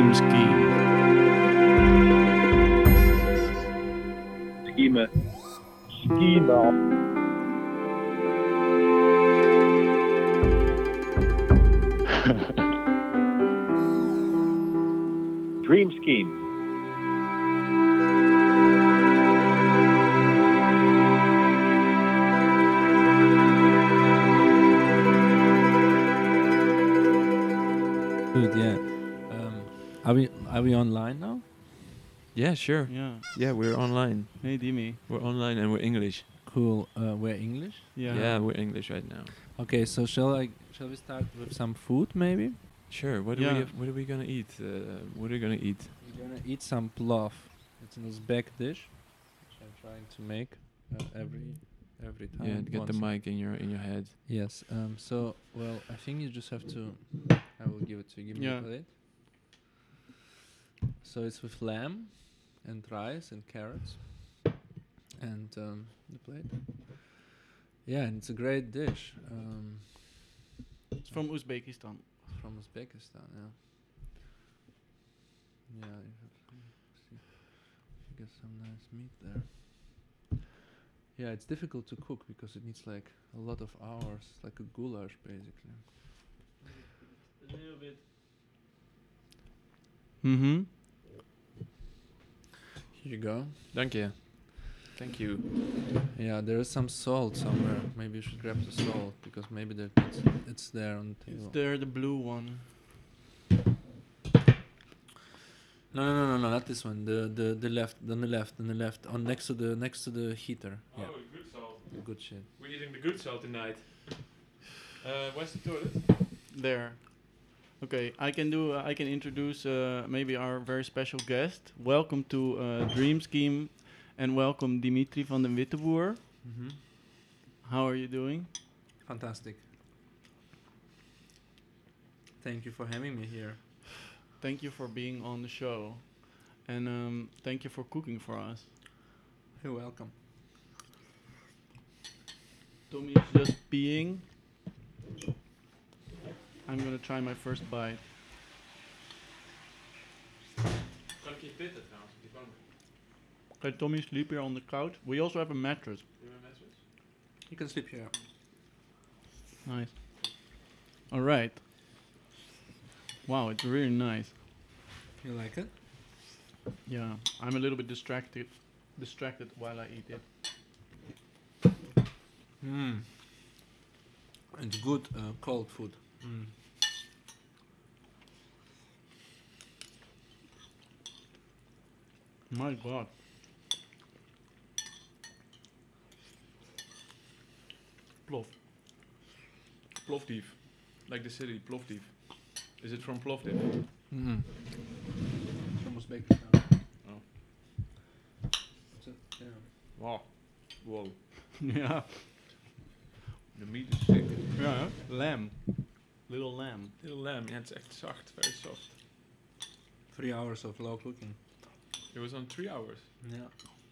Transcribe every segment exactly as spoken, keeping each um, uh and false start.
Dream Scheme. Scheme. Scheme. Dream Scheme. Good, yeah. Um, are we are we online now? Yeah, sure. Yeah. Yeah, we're online. Hey, Dimi. We're online and we're English. Cool. Uh, we're English. Yeah. Yeah, we're English right now. Okay, so shall I shall we start with some food maybe? Sure. What do Yeah. we have, what are we gonna eat? Uh, what are we gonna eat? We're gonna eat some plov. It's an Uzbek dish, which I'm trying to make uh, every every time. Yeah, get the once. mic in your in your head. Yes. Um. So well, I think you just have to. I will give it to you. Give me Yeah. the plate. So it's with lamb, and rice and carrots, and um, the plate. Yeah, and it's a great dish. Um, It's from Uzbekistan. from Uzbekistan, yeah. Yeah, you have see if you get some nice meat there. Yeah, it's difficult to cook because it needs like a lot of hours, like a goulash basically. A little bit. Mm-hmm. Here you go. Thank you. Thank you. Yeah, there is some salt somewhere. Maybe you should grab the salt because maybe there it's, it's there on the table. It's there, the blue one. No, no, no, no, no, not this one. The the the left, on the left, on the left, on next to the next to the heater. Yeah, Oh, good salt. the good shit. We're eating the good salt tonight. Uh, where's the toilet? There. Okay, I can do. Uh, I can introduce uh, maybe our very special guest. Welcome to uh, Dream Scheme, and welcome Dimitri van den Witteboer. Mm-hmm. How are you doing? Fantastic. Thank you for having me here. Thank you for being on the show, and um, thank you for cooking for us. You're welcome. Tommy's just peeing. I'm gonna try my first bite. Kan ik je pitten trouwens? Die bank. Okay, Tommy sleep here on the couch. We also have a mattress. You can sleep here. Nice. All right. Wow, it's really nice. You like it? Yeah, I'm a little bit distracted, distracted while I eat it. Mm. It's good uh, cold food. Mm. My God. Plov. Plovdiv. Like the city, Plovdiv. Is it from Plovdiv? Mm. From Uzbekistan. Oh. So, yeah. Wow. Wow. Yeah. The meat is sick. Yeah. Lamb. Little lamb. Little lamb. Yeah, it's echt zacht. Very soft. Three hours of low cooking. It was on three hours. Yeah.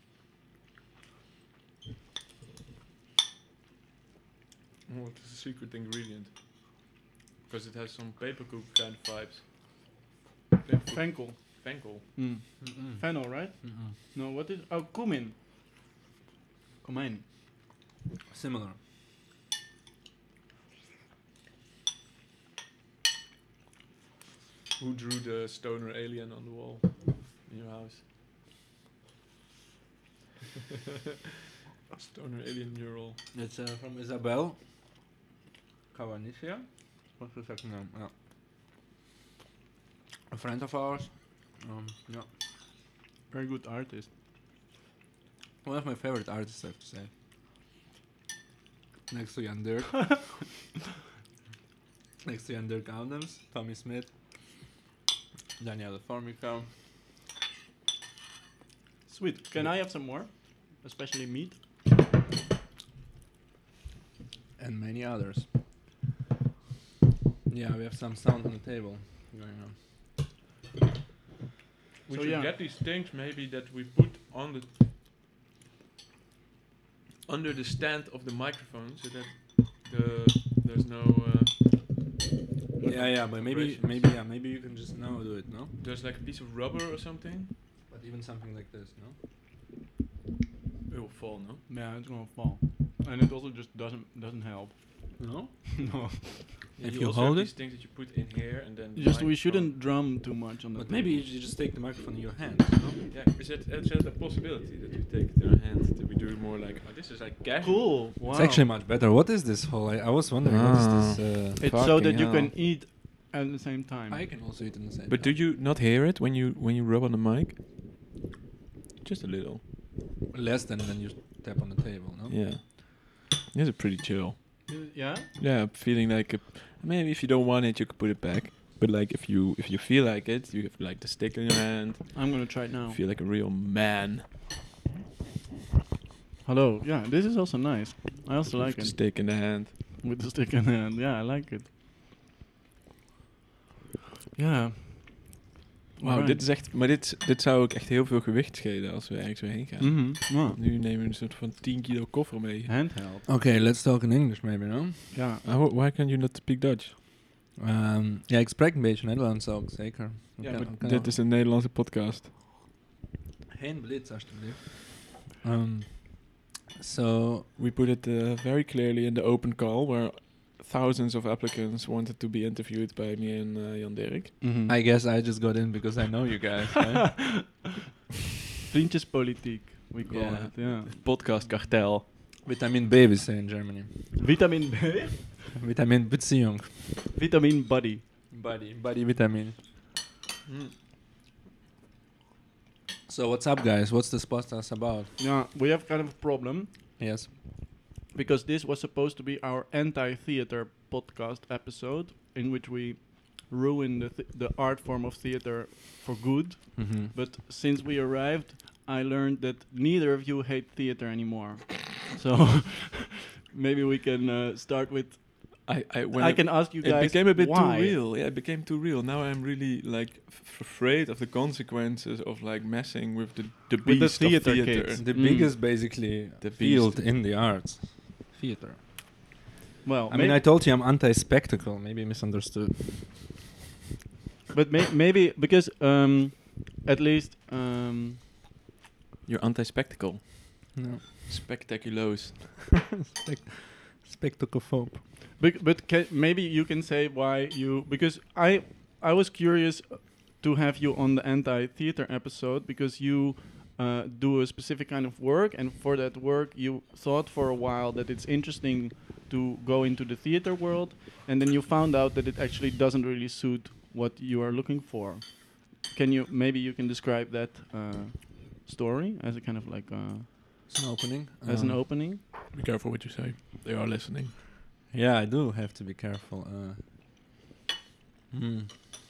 What is the secret ingredient? Because it has some papercook kind of vibes. Papercook. Fenkel. Fenkel. Mm. Mm-mm. Fennel, right? Mm-mm. No, what is... Oh, cumin. Cumin. Similar. Who drew the stoner alien on the wall in your house? Stoner alien mural. It's uh, from Isabel Cavanisia. What's the second name? Yeah. A friend of ours. Um, yeah. Very good artist. One of my favorite artists, I have to say. Next to Jan Dirk. Next to Jan Dirk Adams, Tommy Smith, Daniela Formica. Sweet. Can I have some more? Especially meat? And many others. Yeah, we have some sound on the table going on. We So should yeah. get these things maybe that we put on the under the stand of the microphone so that the there's no uh, Yeah, yeah, but maybe, Operations. maybe, yeah, maybe you can just now do it, no? There's like a piece of rubber or something. But even something like this, no? It will fall, no? Yeah, it's gonna fall, and it also just doesn't doesn't help. No? No, If you you also hold have it- these things that you put in here and then. the just we microphone- shouldn't drum too much on the. But maybe you table. ju- just take the microphone in your hand, no? Yeah, is that, is that a possibility that we take it in our hand? That we do it more like, oh, this is like casual. Cool. Wow. It's actually much better. What is this whole? I, I was wondering, what is this? Uh, It's so that Fucking you hell. can eat at the same time. I can also eat in the same But do time. you not hear it when you when you rub on the mic? Just a little. Less than when you tap on the table, no? Yeah. This is pretty chill. Yeah. Yeah, feeling like a, maybe if you don't want it, you could put it back. But like if you if you feel like it, you have like the stick in your hand. I'm gonna try it now. Feel like a real man. Hello. Yeah, this is also nice. I also With like the it stick in the hand. with the stick in the hand. Yeah, I like it. Ja. Wauw, Alright. dit is echt. Maar dit, dit zou ook echt heel veel gewicht schelen als we ergens weer heen gaan. Mhm. Ja. Nu nemen we een soort van tien kilo koffer mee. Handheld. Okay, let's talk in English maybe, no? Ja. Uh, wh- why can't you not speak Dutch? Um, ja, ik spreek een beetje Nederlands ook, zeker. Ja, Kan- maar kan dit ook. is een Nederlandse podcast. Geen blitz, alsjeblieft. Um, so, We put it uh, very clearly in the open call where thousands of applicants wanted to be interviewed by me and uh, Jan Dirk. Mhm. I guess I just got in because I know you guys, right? Vriendjespolitiek, we call Yeah. it. Yeah. Podcast kartel. Vitamin B, we say in Germany. Vitamin B. Vitamin Beziehung. Vitamin buddy. Body, body vitamin. So what's up, guys? What's this podcast about? Yeah, we have kind of a problem Yes. because this was supposed to be our anti-theater podcast episode in which we ruin the th- the art form of theater for good. Mm-hmm. But since we arrived, I learned that neither of you hate theater anymore. So maybe we can uh, start with. I, I, when I it- can ask you it guys. became a bit why. too real. Yeah, it became too real. Now I'm really like f- afraid of the consequences of like messing with the the With the beast of theater theater. kids. The Mm. biggest, basically, The field beast. in the arts. Theater. Well, I mean, I told you I'm anti-spectacle. Maybe misunderstood. but may- maybe because um, at least um, You're anti-spectacle. No. Spectaculoos. Spec- spectacophobe. Bec- but ca- maybe you can say why you because I I was curious uh, to have you on the anti-theater episode because you uh, do a specific kind of work, and for that work you thought for a while that it's interesting to go into the theater world, and then you found out that it actually doesn't really suit what you are looking for. Can you maybe you can describe that uh, story as a kind of like uh, It's an opening. as an Um, opening? Be careful what you say. They are listening. Yeah, I do have to be careful. Uh, hmm.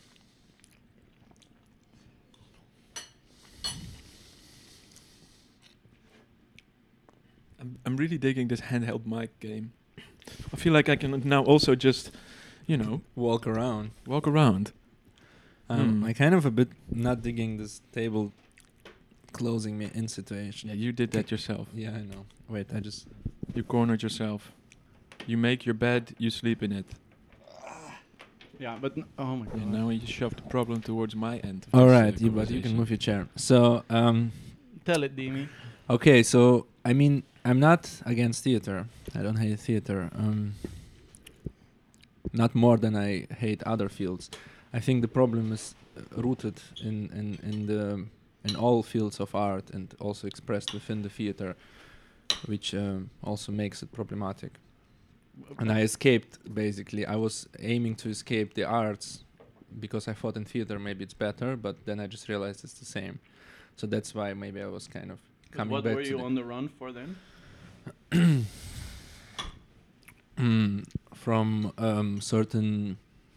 I'm, I'm really digging this handheld mic game. I feel like I can now also just, you know, Walk around. walk around. Um, Hmm. I kind of a bit not digging this table closing me in situation. Yeah, you did that yourself. Yeah, I know. Wait, I just. You cornered yourself. You make your bed, you sleep in it. Yeah, but n- oh my god. And now you shoved the problem towards my end. of All this, uh, right, you, but you can conversation. move your chair. So, um, Tell it, Dimi. okay, so I mean, I'm not against theater. I don't hate theater. Um, not more than I hate other fields. I think the problem is uh, rooted in, in, in the in all fields of art and also expressed within the theater, which um, also makes it problematic. And I escaped, basically. I was aiming to escape the arts because I thought in theater maybe it's better, but then I just realized it's the same. So that's why maybe I was kind of But coming what back were to you the on the run for then? Mm, from um, certain,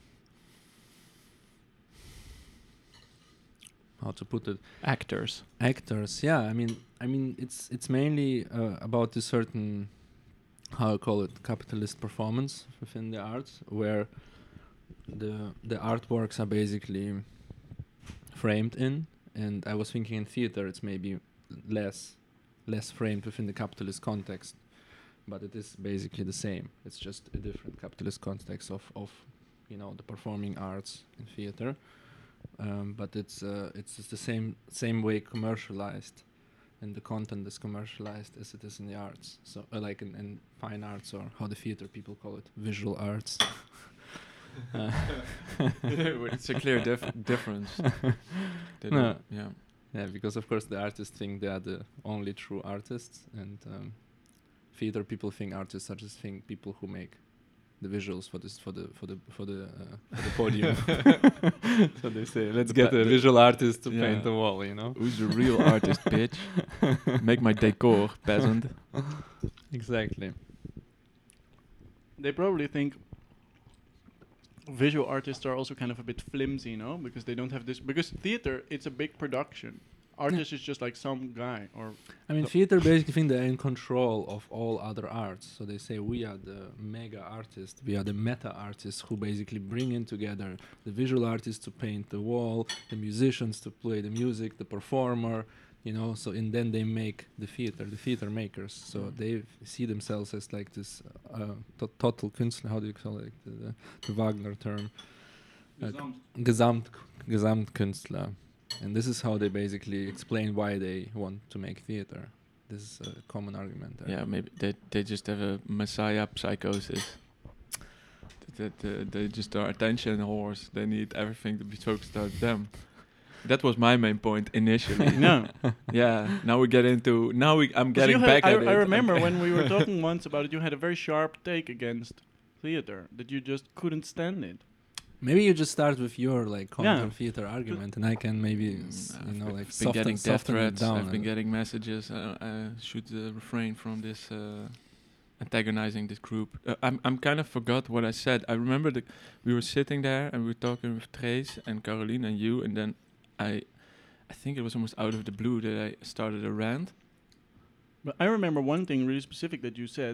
how to put it, Actors. actors. Yeah, I mean, I mean, it's it's mainly uh, about a certain, how I call it, capitalist performance within the arts, where the the artworks are basically framed in, and I was thinking in theater it's maybe less less framed within the capitalist context, but it is basically the same. It's just a different capitalist context of of you know, the performing arts in theater. Um, but it's uh, it's just the same same way commercialized, and the content is commercialized as it is in the arts. So uh, like in, in fine arts, or how the theater people call it, visual arts. uh, It's a clear dif- difference. They No. don't- Yeah. Yeah, because of course the artists think they are the only true artists, and um, theater people think artists are just think people who make the visuals for this for the for the for the uh, for the podium. So they say, let's The get pa- a the- visual artist to yeah. paint the wall, you know. Who's the real artist, bitch? Make my decor, peasant. Exactly. They probably think visual artists are also kind of a bit flimsy, no? Because they don't have this. Because theater, it's a big production. Artist is just like some guy, or I mean, No. theater basically think they're in control of all other arts. So they say we are the mega artists, we are the meta artists who basically bring in together the visual artists to paint the wall, the musicians to play the music, the performer, you know. So and then they make the theater, the theater makers. So Mm. they f- see themselves as like this uh, to- total Künstler. How do you call it? The, the, the Wagner term. Uh, Gesamt Gesamtkünstler. And this is how they basically explain why they want to make theater. This is a common argument there. Yeah, maybe they they just have a messiah psychosis. That that, uh, they just are attention whores. They need everything to be focused on them. That was my main point initially. no. Yeah. Now we get into. Now we. I'm 'Cause getting you had- back I, at it. I remember when we were talking once about it, you had a very sharp take against theater, that you just couldn't stand it. Maybe you just start with your like counter Yeah. theater argument, and I can maybe Mm, s- I've you know been- like I've been soften, getting death soften it threats. down. I've been and- getting messages. Uh, I should uh, refrain from this uh, antagonizing this group. Uh, I'm I'm kind of forgot what I said. I remember that we were sitting there and we were talking with Trace and Caroline and you, and then I, I think it was almost out of the blue that I started a rant. But I remember one thing really specific that you said,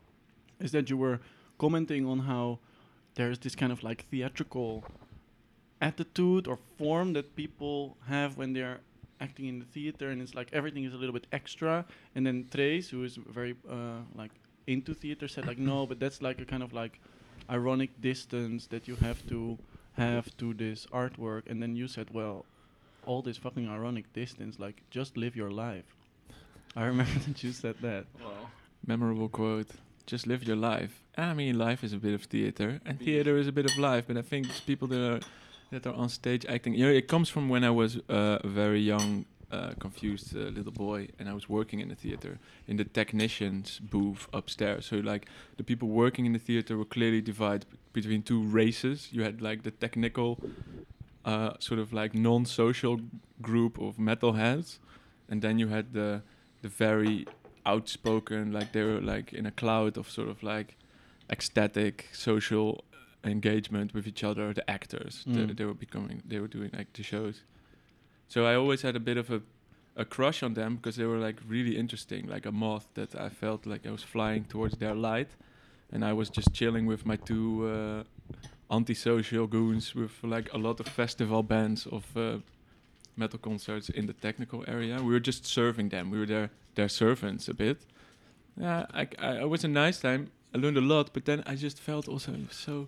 is that you were commenting on how there's this kind of like theatrical attitude or form that people have when they're acting in the theater, and it's like everything is a little bit extra. And then Trace, who is very uh, like into theater, said like, no, but that's like a kind of like ironic distance that you have to have to this artwork. And then you said, well, all this fucking ironic distance, like just live your life. I remember that you said that. Memorable quote. Just live your life. I mean, life is a bit of theater, and theater is a bit of life. But I think it's people that are that are on stage acting. You know, it comes from when I was uh, a very young, uh, confused uh, little boy, and I was working in the theater in the technicians booth upstairs. So like the people working in the theater were clearly divided b- between two races. You had like the technical, uh, sort of like non-social group of metalheads, and then you had the the very outspoken, like they were like in a cloud of sort of like ecstatic social engagement with each other, the actors. They, Mm. they were becoming, they were doing like the shows. So I always had a bit of a, a crush on them because they were like really interesting, like a moth that I felt like I was flying towards their light. And I was just chilling with my two uh, antisocial goons with like a lot of festival bands of uh, metal concerts in the technical area. We were just serving them. We were their their servants a bit. Yeah, I, I, it was a nice time. I learned a lot, but then I just felt also so.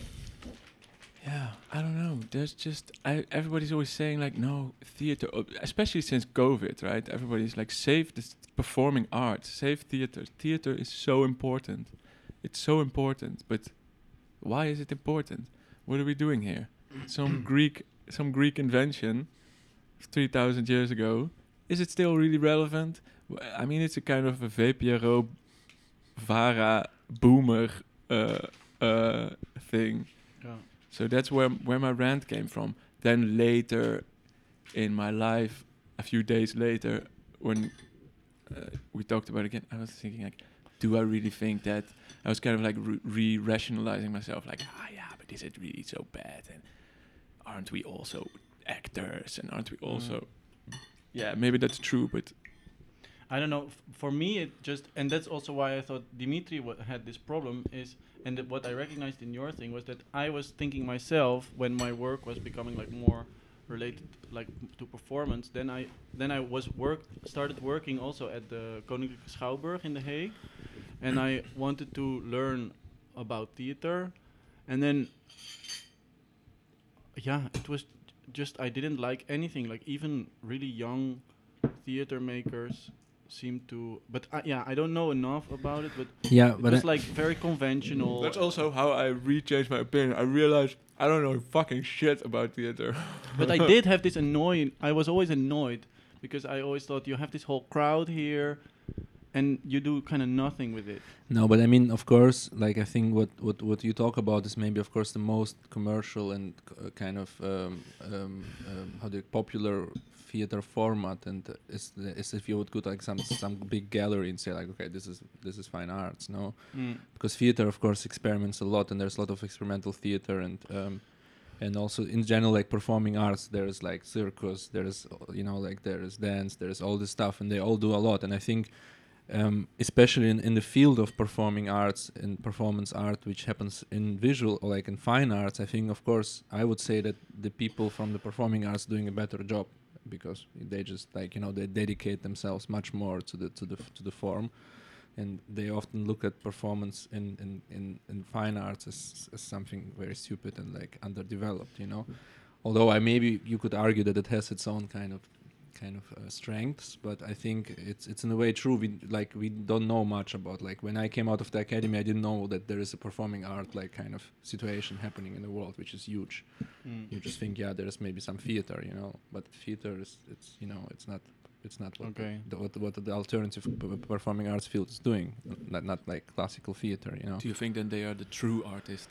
Yeah, I don't know. There's just I, everybody's always saying like no theater, uh, especially since COVID, right? Everybody's like save this performing arts, save theater. Theater is so important. It's so important, but why is it important? What are we doing here? Some Greek, some Greek invention, three thousand years ago. Is it still really relevant? W- I mean, it's a kind of a V P R O, Vara, boomer uh, uh, thing. Yeah. So that's where where my rant came from. Then later in my life, a few days later, when uh, we talked about it again, I was thinking like, do I really think that? I was kind of like re- re-rationalizing myself, like, ah, yeah, but is it really so bad? And aren't we also actors? And aren't we also? Yeah, maybe that's true, but I don't know. F- for me, it just, and that's also why I thought Dimitri wa- had this problem is, and that what I recognized in your thing was that I was thinking myself when my work was becoming like more related, like m- to performance. Then I, then I was work started working also at the Koninklijke Schouwburg in The Hague, and I wanted to learn about theater. and then yeah, it was just I didn't like anything. Like even really young theater makers seem to, but I, yeah, I don't know enough about it. But Yeah, it but was I- like very conventional. That's also how I re-changed my opinion. I realized I don't know fucking shit about theater. But I did have this annoying. I was always annoyed because I always thought you have this whole crowd here, and you do kind of nothing with it. No, but I mean, of course, like I think what, what, what you talk about is maybe, of course, the most commercial and uh, kind of um, um, um, how the popular theater format, and uh, is, the, is if you would go to like some some big gallery and say like, okay, this is this is fine arts, no, because theater, of course, experiments a lot, and there's a lot of experimental theater, and um, and also in general, like performing arts, there's like circus, there's uh, you know like there's dance, there's all this stuff, and they all do a lot, and I think. Um, especially in, in the field of performing arts and performance art, which happens in visual or like in fine arts, I think, of course, I would say that the people from the performing arts doing a better job because they just like you know they dedicate themselves much more to the to the f- to the form, and they often look at performance in in, in, in fine arts as, as something very stupid and like underdeveloped, you know. Although I maybe you could argue that it has its own kind of kind of uh, strengths, but I think it's it's in a way true. We like we don't know much about like when I came out of the academy, I didn't know that there is a performing art like kind of situation happening in the world, which is huge. Mm. You just think, yeah, there's maybe some theater, you know, but theater is it's you know it's not it's not what Okay. the, what what the alternative p- performing arts field is doing, not not like classical theater, you know. Do you think then they are the true artist?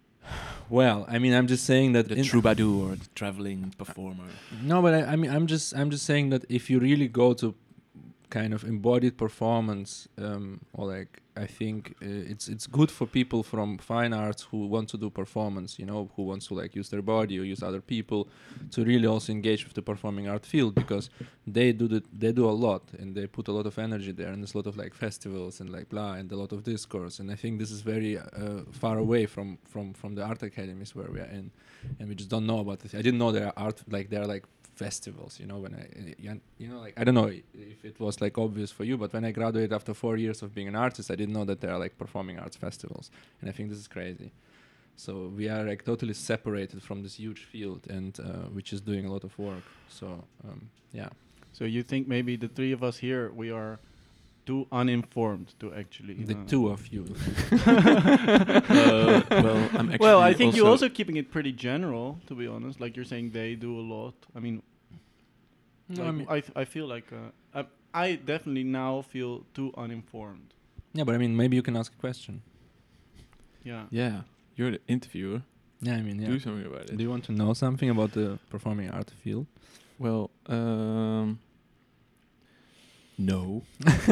Well, I mean, I'm just saying that The in- troubadour, the traveling performer. No, but I, I mean, I'm just, I'm just saying that if you really go to kind of embodied performance, um, or like, I think uh, it's it's good for people from fine arts who want to do performance, you know, who wants to like use their body or use other people, to really also engage with the performing art field because they do the, they do a lot and they put a lot of energy there, and there's a lot of like festivals and like blah and a lot of discourse, and I think this is very uh, far away from from from the art academies where we are in, and we just don't know about it. I didn't know there are art like there are like festivals, you know, when I, uh, you know, like, I don't know if it was like obvious for you, but when I graduated after four years of being an artist, I didn't know that there are like performing arts festivals. And I think this is crazy. So we are like totally separated from this huge field and uh, which is doing a lot of work. So, um, yeah. So you think maybe the three of us here, we are too uninformed to actually... The uh, two of you. uh, well, I'm actually well, I think you're also- also keeping it pretty general, to be honest. Like you're saying they do a lot. I mean, No, like, I mean- I, th- I feel like... Uh, I, I definitely now feel too uninformed. Yeah, but I mean, maybe you can ask a question. Yeah. Yeah, you're the interviewer. Yeah, I mean, yeah. Do something about it. Do you want to know something about the performing art field? Well, um, no.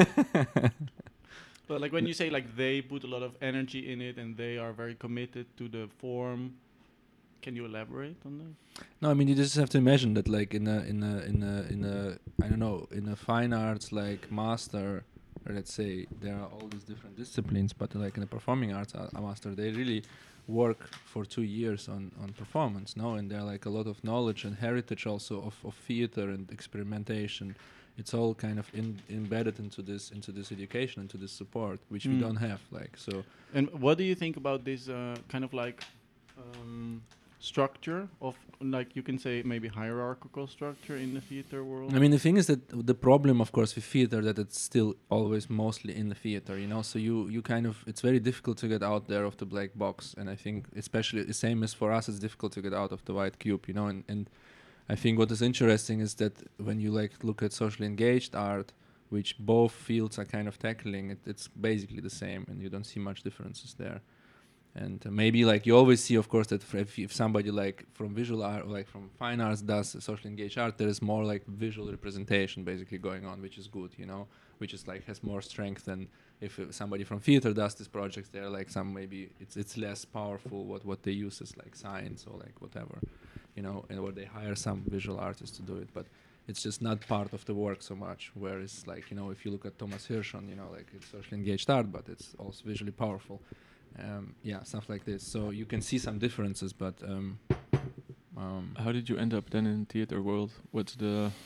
But like when you say like they put a lot of energy in it and they are very committed to the form, can you elaborate on that? No, I mean you just have to imagine that, like in a in a in a in a I don't know in a fine arts like master, or let's say there are all these different disciplines, but like in a performing arts a, a master, they really work for two years on on performance, no, and there are like a lot of knowledge and heritage also of of theater and experimentation. It's all kind of in, embedded into this into this education, into this support, which we Mm. don't have. Like so. And what do you think about this uh, kind of like um, structure of like you can say maybe hierarchical structure in the theater world? I mean, the thing is that the problem, of course, with theater, that it's still always mostly in the theater, you know. So you, you kind of, it's very difficult to get out there of the black box, and I think, especially the same as for us, it's difficult to get out of the white cube, you know. And, and I think what is interesting is that when you like look at socially engaged art, which both fields are kind of tackling, it, it's basically the same, and you don't see much differences there. And uh, maybe like you always see, of course, that f- if, if somebody like from visual art or like from fine arts does socially engaged art, there is more like visual representation basically going on, which is good, you know, which is like has more strength than if uh, somebody from theater does these projects. They're like some maybe it's it's less powerful what what they use is like science or like whatever, you know, and or they hire some visual artists to do it, but it's just not part of the work so much. Whereas like you know if you look at Thomas Hirschon, you know, like it's socially engaged art, but it's also visually powerful. Um, yeah, stuff like this. So you can see some differences, but um, um, How did you end up then in theater world? What's the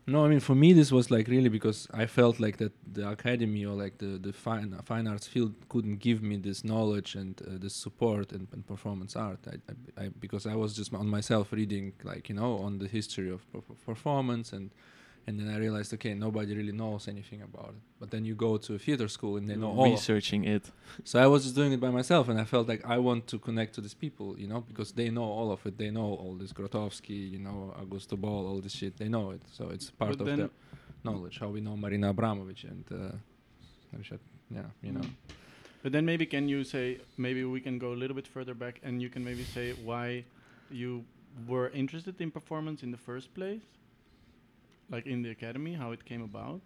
No, I mean for me this was like really because I felt like that the academy or like the the fine fine arts field couldn't give me this knowledge and uh, this support and, and performance art. I, I, I because I was just on myself reading like you know on the history of perf- performance and and then I realized okay nobody really knows anything about it. But then you go to a theater school and they know all. Of researching it. So I was just doing it by myself, and I felt like I want to connect to these people, you know, because they know all of it. They know all this Grotowski, you know, Augusto Ball, all this shit. They know it, so it's part But of then- their knowledge. How we know Marina Abramovic and, uh, we should- yeah, you know. Mm. But then maybe can you say, maybe we can go a little bit further back and you can maybe say why you were interested in performance in the first place? Like in the academy, how it came about?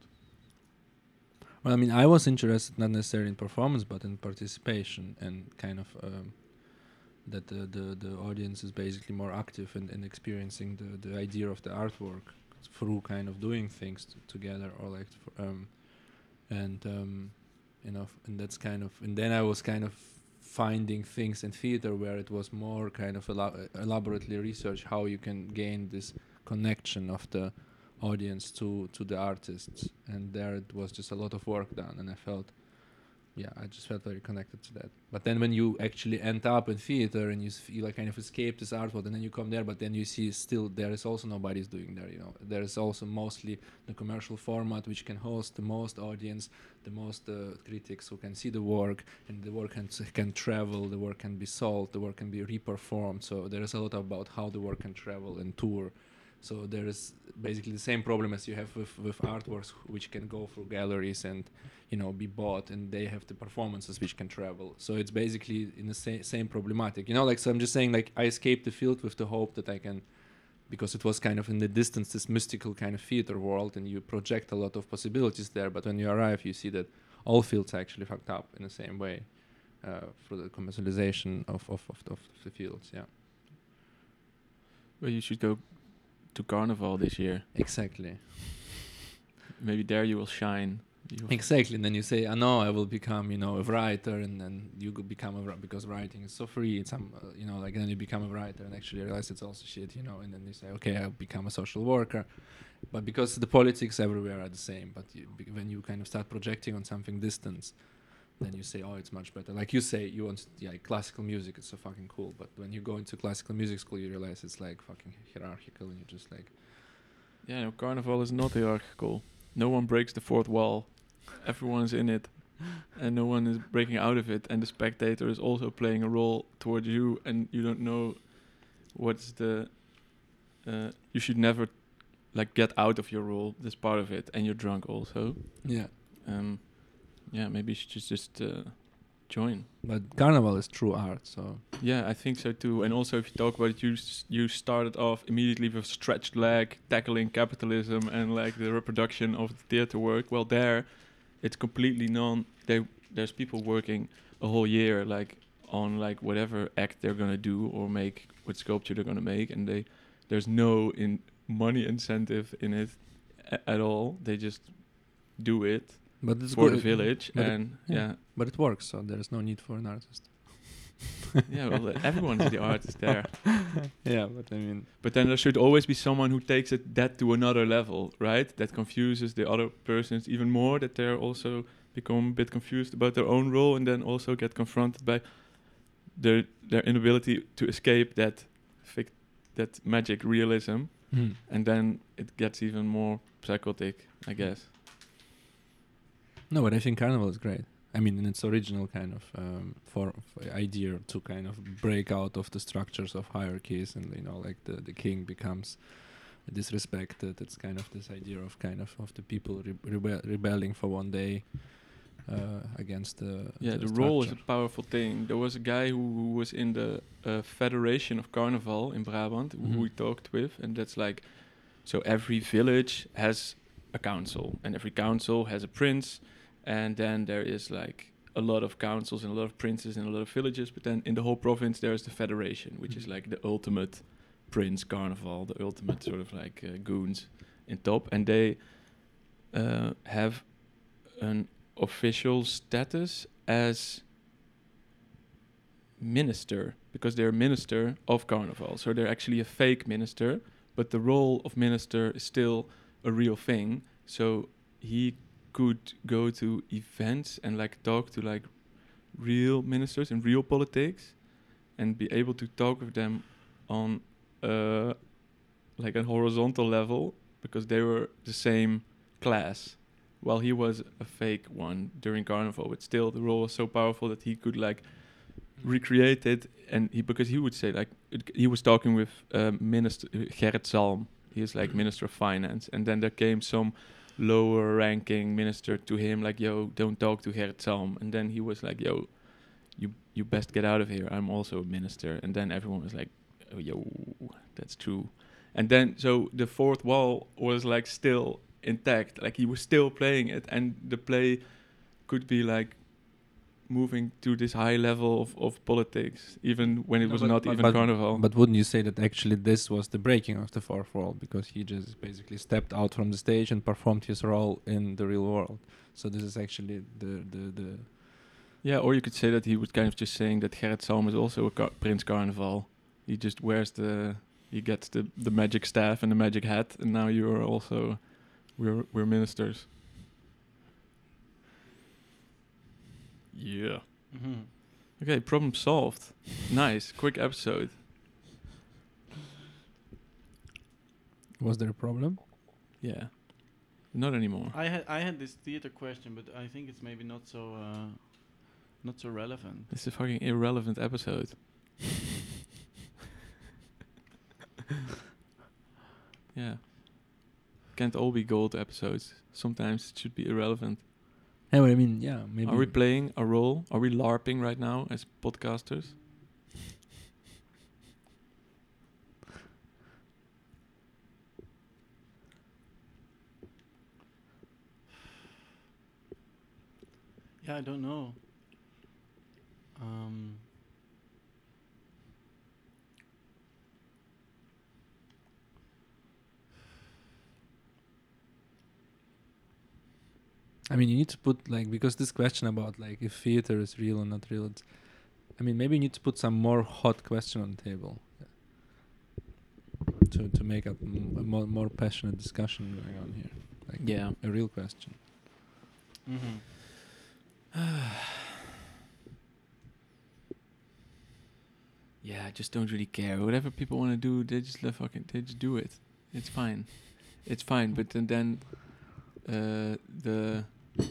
Well, I mean, I was interested not necessarily in performance, but in participation and kind of um, that the, the the audience is basically more active in, in experiencing the, the idea of the artwork through kind of doing things t- together or like f- um, and um, you know f- and that's kind of and then I was kind of finding things in theater where it was more kind of elo- elaborately research how you can gain this connection of the audience to to the artists, and there it was just a lot of work done, and I felt yeah I just felt very connected to that. But then when you actually end up in theater and you, s- you like kind of escape this art world and then you come there, but then you see still there is also nobody's doing there, you know, there is also mostly the commercial format which can host the most audience, the most uh, critics who can see the work, and the work can, s- can travel, the work can be sold, the work can be reperformed, so there is a lot about how the work can travel and tour. So there is basically the same problem as you have with, with artworks which can go through galleries and, you know, be bought, and they have the performances which can travel. So it's basically in the sa- same problematic, you know, like, so I'm just saying, like, I escaped the field with the hope that I can, because it was kind of in the distance, this mystical kind of theater world, and you project a lot of possibilities there, but when you arrive, you see that all fields are actually fucked up in the same way uh, through the commercialization of, of, of, of the fields, yeah. Well, you should go to Carnival this year. Exactly. Maybe there you will shine. You Exactly, and then you say, "I know I will become, you know, a writer," and then you could become a writer because writing is so free. It's some, uh, you know, like then you become a writer and actually realize it's also shit, you know. And then you say, "Okay, I'll become a social worker," but because the politics everywhere are the same. But you, be- when you kind of start projecting on something distant, then you say, "Oh, it's much better." Like you say, you want, yeah, like classical music. It's so fucking cool. But when you go into classical music school, you realize it's like fucking hierarchical, and you're just like, Yeah, no, Carnival is not hierarchical. No one breaks the fourth wall. Everyone's in it, and no one is breaking out of it. And the spectator is also playing a role towards you, and you don't know what's the. Uh, you should never, like, get out of your role. That's part of it, and you're drunk also. yeah. Um, yeah, maybe you should just just uh, join. But carnival is true art, so Yeah, I think so too. And also, if you talk about it, you s- you started off immediately with stretched leg, tackling capitalism and like the reproduction of the theater work. Well, there, it's completely non. They there's people working a whole year like on like whatever act they're gonna do or make, what sculpture they're gonna make, and they there's no in money incentive in it a- at all. They just do it but it's for good. the village, but it- and yeah. yeah, But it works, so there is no need for an artist. yeah. Well, uh, everyone's the artist there. Yeah, but I mean, But then there should always be someone who takes it that to another level, right? That confuses the other persons even more, that they're also become a bit confused about their own role, and then also get confronted by their their inability to escape that fic- that magic realism, hmm. and then it gets even more psychotic, I guess. No, but I think carnival is great. I mean, in its original kind of um, for, for idea to kind of break out of the structures of hierarchies, and you know, like the, the king becomes disrespected. It's kind of this idea of kind of of the people re- rebe- rebelling for one day uh, against the Yeah, the the role is a structure. powerful thing. There was a guy who, who was in the uh, Federation of Carnival in Brabant, Mhm. who we talked with, and that's like, so every village has a council, and every council has a prince, and then there is like a lot of councils and a lot of princes in a lot of villages, but then in the whole province there is the Federation, which is Mhm. like the ultimate prince carnival, the ultimate sort of like uh, goons in top, and they uh, have an official status as minister, because they're minister of carnival, so they're actually a fake minister, but the role of minister is still a real thing. So he could go to events and like talk to like real ministers in real politics and be able to talk with them on uh, like a horizontal level because they were the same class, while he was a fake one during Carnival. But still, the role was so powerful that he could like recreate it, and he because he would say like it, he was talking with uh, Minister uh, Gerrit Salm. He is like Minister of Finance, and then there came some lower ranking minister to him like, yo, don't talk to Gerrit Salm. And then he was like, yo, you you best get out of here, I'm also a minister. And then everyone was like, oh, yo, that's true. And then so the fourth wall was like still intact, like he was still playing it, and the play could be like moving to this high level of, of politics even when it No, was but- not but- even but- Carnival. But wouldn't you say that actually this was the breaking of the fourth wall, because he just basically stepped out from the stage and performed his role in the real world? So this is actually the the, the Yeah, or you could say that he was kind of just saying that Gerrit Salm is also a car- Prince Carnival. He just wears the, he gets the, the magic staff and the magic hat, and now you are also, we're we're ministers. Yeah. Mhm. Okay, problem solved. Nice, quick episode. was there a problem? Yeah. Not anymore. I had I had this theater question, but I think it's maybe not so uh, not so relevant. It's a fucking irrelevant episode. Yeah. Can't all be gold episodes. Sometimes it should be irrelevant. Yeah, well, I mean, yeah, maybe. Are we playing a role? Are we LARPing right now as podcasters? Yeah, I don't know. Um, I mean, you need to put like, because this question about like if theater is real or not real, it's, I mean, maybe you need to put some more hot question on the table to to make up m- a more more passionate discussion going on here. Like Yeah. a real question. mhm. Yeah, I just don't really care. Whatever people want to do, they just let fucking they just do it. It's fine. It's fine. But then then uh, the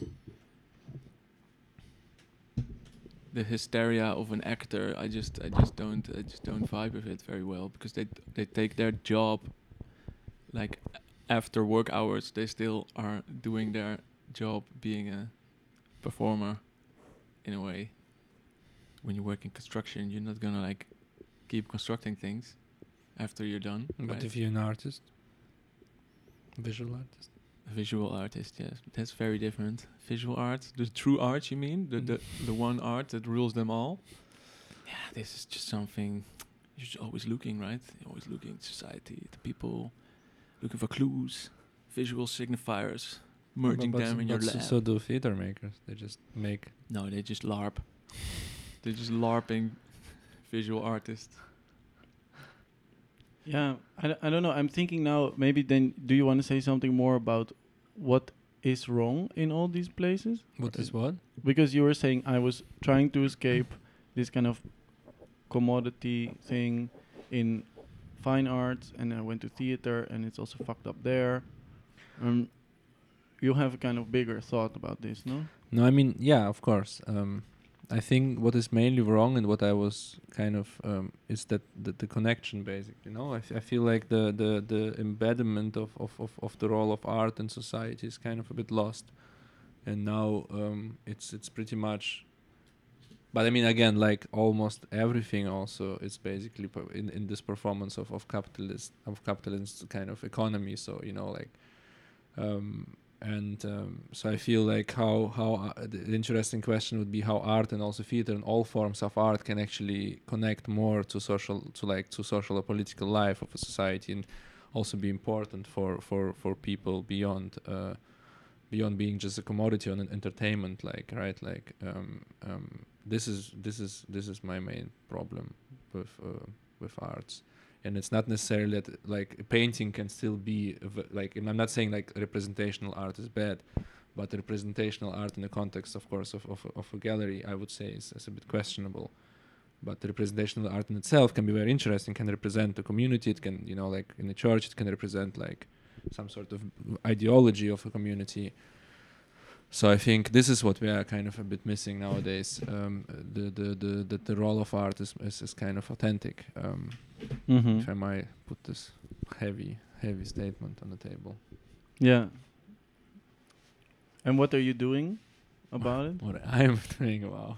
the hysteria of an actor, I just I just don't I just don't vibe with it very well, because they they take their job like after work hours. They still are doing their job being a performer in a way. When you work in construction, you're not gonna like keep constructing things after you're done. But right? if you're an artist, visual artist, A visual artist, yes, that's very different. Visual art, the true art, you mean, the the the one art that rules them all. Yeah, this is just something you're just always looking, right? You're always looking at society, the people, looking for clues, visual signifiers, merging But- but them in s- your but s- lab. So do theater makers. They just make. No, they just LARP. They're just LARPing visual artists. Yeah, I, d- I don't know. I'm thinking now, maybe then, do you want to say something more about what is wrong in all these places? What Uh, is what? Because you were saying I was trying to escape this kind of commodity thing in fine arts, and I went to theater, and it's also fucked up there. Um, you have a kind of bigger thought about this, no? No, I mean, yeah, of course. Um, I think what is mainly wrong and what I was kind of um, is that the, the connection, basically. You know, I, f- I feel like the the the embedment of, of, of, of the role of art in society is kind of a bit lost, and now um, it's it's pretty much. But I mean, again, like almost everything, also is basically per- in in this performance of of capitalist of capitalist kind of economy. So you know, like. Um, And um, so I feel like how how uh, the the interesting question would be how art and also theater and all forms of art can actually connect more to social to like to social or political life of a society, and also be important for for for people beyond uh, beyond being just a commodity on an entertainment, like right like um, um, this is this is this is my main problem with uh, with arts. and it's not necessarily that like a painting can still be a v- like. And I'm not saying like representational art is bad, but representational art in the context, of course, of of, of a gallery, I would say is, is a bit questionable. But the representational art in itself can be very interesting. Can represent the community. It can, you know, like in the church, it can represent like some sort of ideology of a community. So I think this is what we are kind of a bit missing nowadays. Um, the, the the the the role of art is is, is kind of authentic. Um, Mm-hmm. If I might put this heavy heavy statement on the table. Yeah. And what are you doing about it? What I'm doing, wow.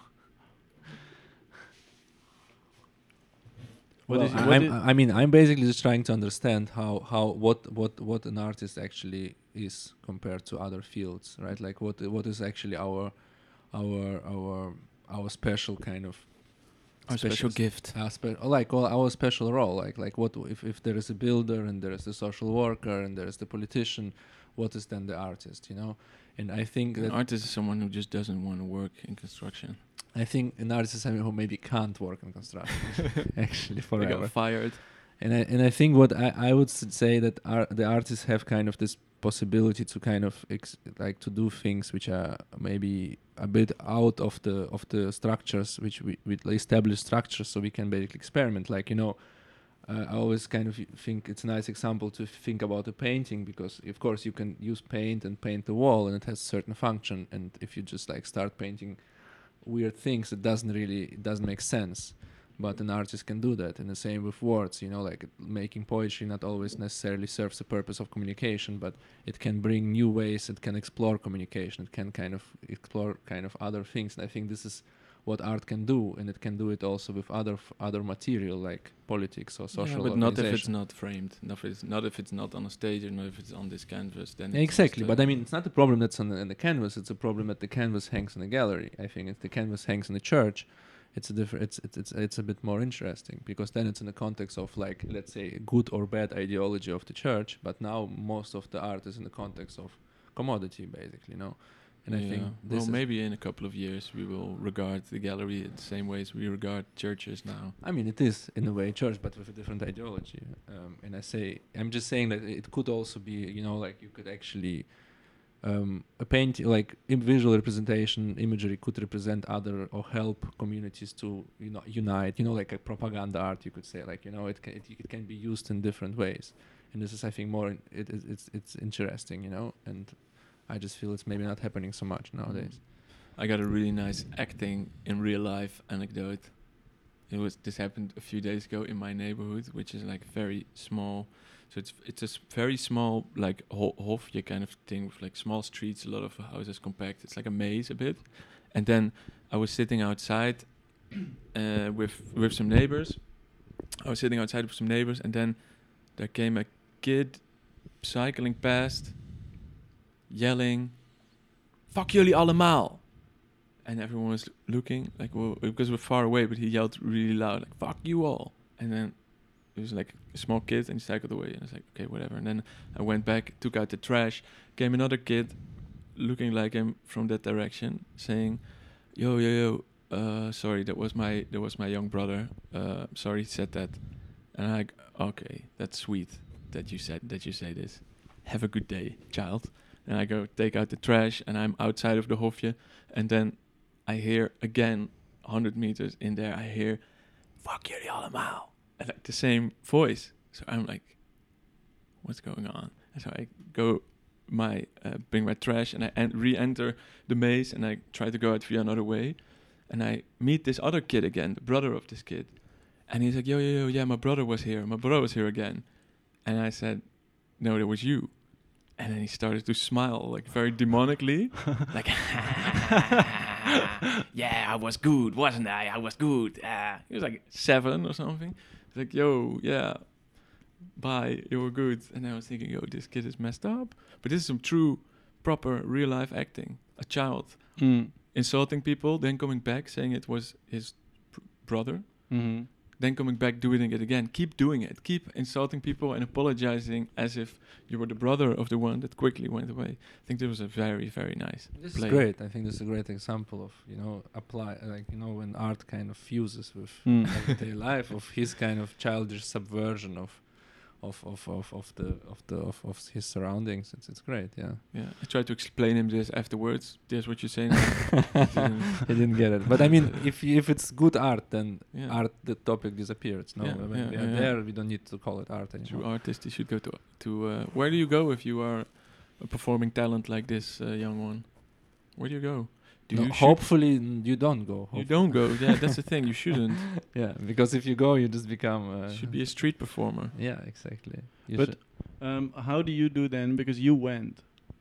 What Well, is- I- what I'm, i- I mean, I'm basically just trying to understand how, how what, what, what an artist actually is compared to other fields, right? Like what what is actually our our our our special kind of Our special s- gift. our spe- or like well, our special role. Like like what if if there is a builder and there is the social worker and there is the politician, what is then the artist? You know, and I think An that artist is someone who just doesn't want to work in construction. I think an artist is someone who maybe can't work in construction actually They forever. got fired. And I and I think what I, I would s- say that ar- the artists have kind of this possibility to kind of ex- like to do things which are maybe a bit out of the of the structures which we with established structures, so we can basically experiment. Like you know, uh, I always kind of think it's a nice example to think about a painting, because of course you can use paint and paint the wall and it has a certain function. And if you just like start painting weird things, it doesn't really it doesn't make sense. But an artist can do that. And the same with words, you know, like making poetry not always necessarily serves the purpose of communication, but it can bring new ways, it can explore communication, it can kind of explore kind of other things. And I think this is what art can do, and it can do it also with other f- other material like politics or social Yeah, but not if it's organization. not framed. Not if it's not if it's not on a stage, or not if it's on this canvas. Then Yeah, it's exactly, just, but uh, I mean, it's not a problem that's on the, in the canvas. It's a problem that the canvas hangs in a gallery. I think if the canvas hangs in a church, it's a different. It's, it's it's it's a bit more interesting, because then it's in the context of like, let's say, good or bad ideology of the church. But now most of the art is in the context of commodity, basically, you know. And I think yeah. this well, is, maybe in a couple of years we will regard the gallery in the same way as we regard churches now. I mean, it is in a way church, but with a different ideology. Um, and I say, I'm just saying that it could also be, you know, like you could actually, um, a paint like im- visual representation, imagery could represent other or help communities to, you know, unite. You know, like a propaganda art, you could say, like you know, it can it, it can be used in different ways. And this is, I think, more in, it, it it's it's interesting, you know. And I just feel it's maybe not happening so much nowadays. I got a really nice acting in real life anecdote. It was this happened a few days ago in my neighborhood, which is like very small. So it's it's a s- very small like ho- hofje kind of thing with like small streets, a lot of houses compact. It's like a maze a bit. And then I was sitting outside uh, with with some neighbors. I was sitting outside with some neighbors, and then there came a kid cycling past, yelling, "Fuck jullie allemaal!" And everyone was looking like, well, because we're far away, but he yelled really loud, like, "Fuck you all!" And then it was like a small kid, and he cycled away, and I was like, okay, whatever. And then I went back, took out the trash, came another kid, looking like him from that direction, saying, "Yo, yo, yo, uh, sorry, that was my that was my young brother. Uh, sorry, he said that." And I, like, okay, that's sweet that you said that you say this. Have a good day, child. And I go take out the trash, and I'm outside of the hofje, and then I hear again, one hundred meters in there, I hear, "Fuck jullie allemaal." And like the same voice. So I'm like, what's going on? And so I go, my uh, bring my trash, and I en- re-enter the maze, and I try to go out via another way. And I meet this other kid again, the brother of this kid. And he's like, yo, yo, yo, yeah, my brother was here. My brother was here again. And I said, no, that was you. And then he started to smile, like very demonically. Like, yeah, I was good, wasn't I? I was good. Uh, he was like seven or something. He's like, yo, yeah, bye, you were good. And I was thinking, yo, this kid is messed up. But this is some true, proper, real-life acting. A child Mm. insulting people, then coming back, saying it was his pr- brother. Mm-hmm. then coming back doing it again. Keep doing it. Keep insulting people and apologizing as if you were the brother of the one that quickly went away. I think that was a very, very nice This play. is great. I think this is a great example of, you know, apply, like, you know, when art kind of fuses with Mm. everyday life, of his kind of childish subversion of of of of, of the of the of, of his surroundings. It's it's great. Yeah. Yeah, I tried to explain him this afterwards. That's what you're saying. Didn't- He didn't get it. But I mean, if y- if it's good art, then Yeah. art, the topic disappears. No, Yeah, when yeah, we yeah, are yeah. there, we don't need to call it art True anymore. artist, you should go to to. Uh, where do you go if you are a performing talent like this uh, young one? Where do you go? Do No, you shoot- hopefully n- you don't go. You Hope- don't go. Yeah, that's the thing. You shouldn't. Yeah, because if you go, you just become. Uh, You should be a street performer. Yeah, exactly. You But should- um, how do you do then? Because you went,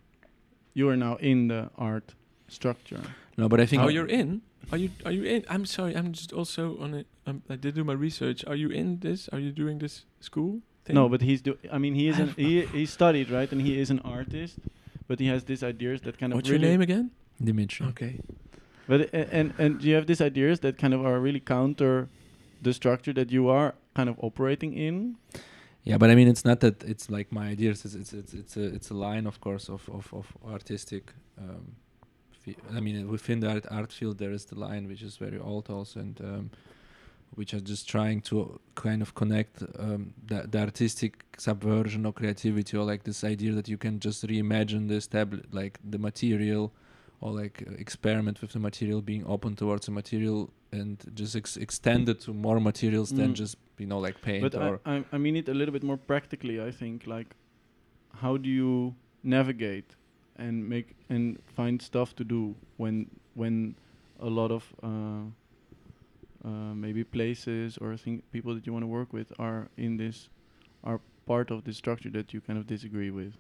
you are now in the art structure. no, but I think. Oh, you're in. Are you? Are you in? I'm sorry. I'm just also on it. Um, I did do my research. Are you in this? Are you doing this school thing? No, but he's do. I mean, he is an he he studied, right, and he is an artist, but he has these ideas that kind of. What's really your name again? Dimitri. Okay. But uh, and and you have these ideas that kind of are really counter the structure that you are kind of operating in. Yeah, but I mean, it's not that it's like my ideas. It's it's it's, it's a it's a line, of course, of of of artistic. Um, fi- I mean, within the art, art field, there is the line which is very old also, and um, which are just trying to kind of connect um, the, the artistic subversion or creativity, or like this idea that you can just reimagine the establi- like the material, or like uh, experiment with the material, being open towards the material, and just ex- extend it to more materials than Mm. just, you know, like paint But or. I, I I mean it a little bit more practically. I think like, how do you navigate and make and find stuff to do when when a lot of uh, uh, maybe places or think people that you want to work with are in this are part of the structure that you kind of disagree with.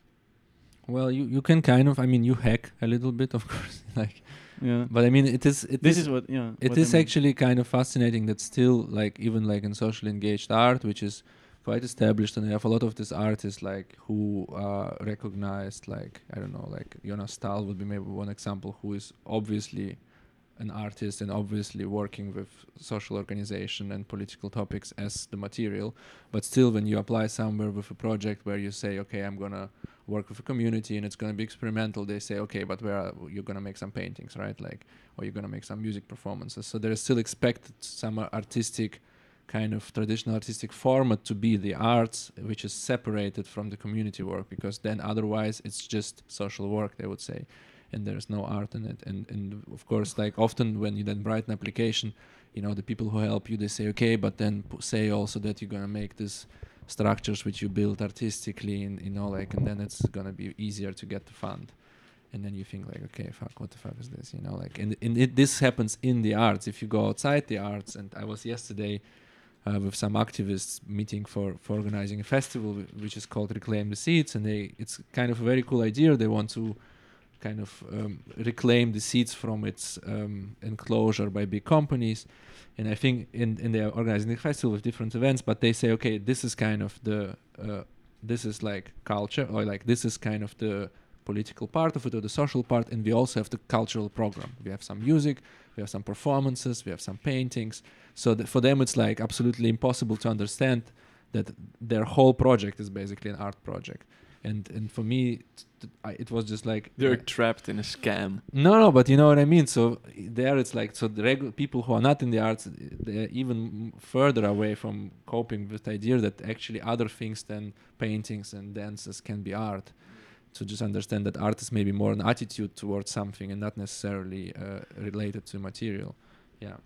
Well, you, you can kind of, I mean, you hack a little bit, of course, like, Yeah. but I mean, it is, it This is, is what yeah. it what I is mean. actually kind of fascinating that still, like, even like in socially engaged art, which is quite established, and I have a lot of these artists, like, who are recognized, like, I don't know, like Jonas Stahl would be maybe one example, who is obviously an artist and obviously working with social organization and political topics as the material, but still when you apply somewhere with a project where you say, okay, I'm gonna work with a community and it's gonna be experimental, they say, okay, but where are you're gonna make some paintings, right? Like, or you're gonna make some music performances. So there is still expected some uh, artistic kind of traditional artistic format to be the arts, which is separated from the community work, because then otherwise it's just social work, they would say, and there's no art in it. And and of course, like often when you then write an application, you know, the people who help you, they say, okay, but then p- say also that you're gonna make this structures which you build artistically, and you know, like, and then it's gonna be easier to get the fund. And then you think like, okay, fuck, what the fuck is this, you know, like, and, and it, this happens in the arts. If you go outside the arts, and I was yesterday uh, with some activists meeting for, for organizing a festival wh- which is called Reclaim the Seats, and they, it's kind of a very cool idea. They want to kind of um, reclaim the seats from its um, enclosure by big companies. And I think in, in they're organizing the festival with different events, but they say, okay, this is kind of the, uh, this is like culture, or like this is kind of the political part of it, or the social part, and we also have the cultural program. We have some music, we have some performances, we have some paintings. So th- for them it's like absolutely impossible to understand that their whole project is basically an art project. And and for me, t- t- I, it was just like They're uh, trapped in a scam. no, no, but you know what I mean. So there, it's like, so the regular people who are not in the arts, they're even m- further away from coping with the idea that actually other things than paintings and dances can be art. To just understand that art is maybe more an attitude towards something and not necessarily uh, related to material. Yeah.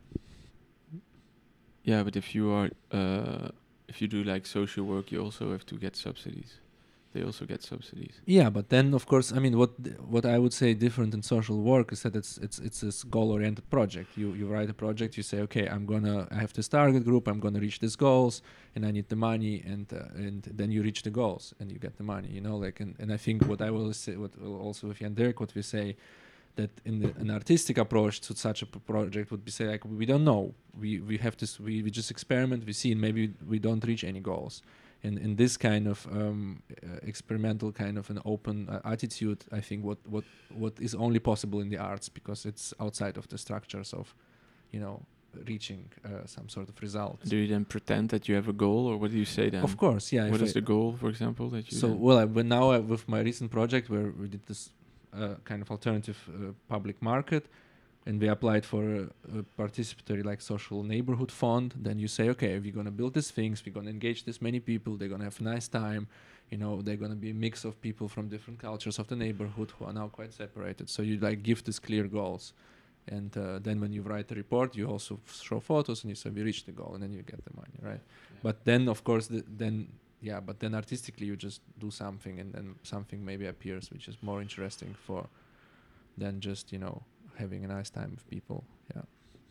Yeah, but if you are, uh, if you do like social work, you also have to get subsidies. They also get subsidies. Yeah, but then of course, I mean, what th- what I would say different in social work is that it's it's it's this goal-oriented project. You you write a project, you say, okay, I'm gonna I have this target group, I'm gonna reach these goals, and I need the money, and uh, and then you reach the goals and you get the money. You know, like, and, and I think what I will say, what uh, also with Jan Dirk, what we say, that in the, an artistic approach to such a p- project would be say like, we don't know, we we have this, we we just experiment, we see, and maybe we don't reach any goals. In in this kind of um, uh, experimental kind of an open uh, attitude, I think what, what what is only possible in the arts, because it's outside of the structures of, you know, reaching uh, some sort of result. Do you then pretend that you have a goal, or what do you say then? Of course, yeah. What if is I- the goal, for example, that you? So then- well, I, but now I, with my recent project where we did this uh, kind of alternative uh, public market, and we applied for a, a participatory like social neighborhood fund. Then you say, okay, if you're gonna build these things, we're gonna engage this many people. They're gonna have a nice time. You know, they're gonna be a mix of people from different cultures of the neighborhood who are now quite separated. So you like give these clear goals. And uh, then when you write the report, you also f- show photos and you say we reached the goal, and then you get the money, right? Yeah. But then, of course, the, then yeah, but then artistically you just do something, and then something maybe appears which is more interesting for than just, you know, having a nice time with people. Yeah,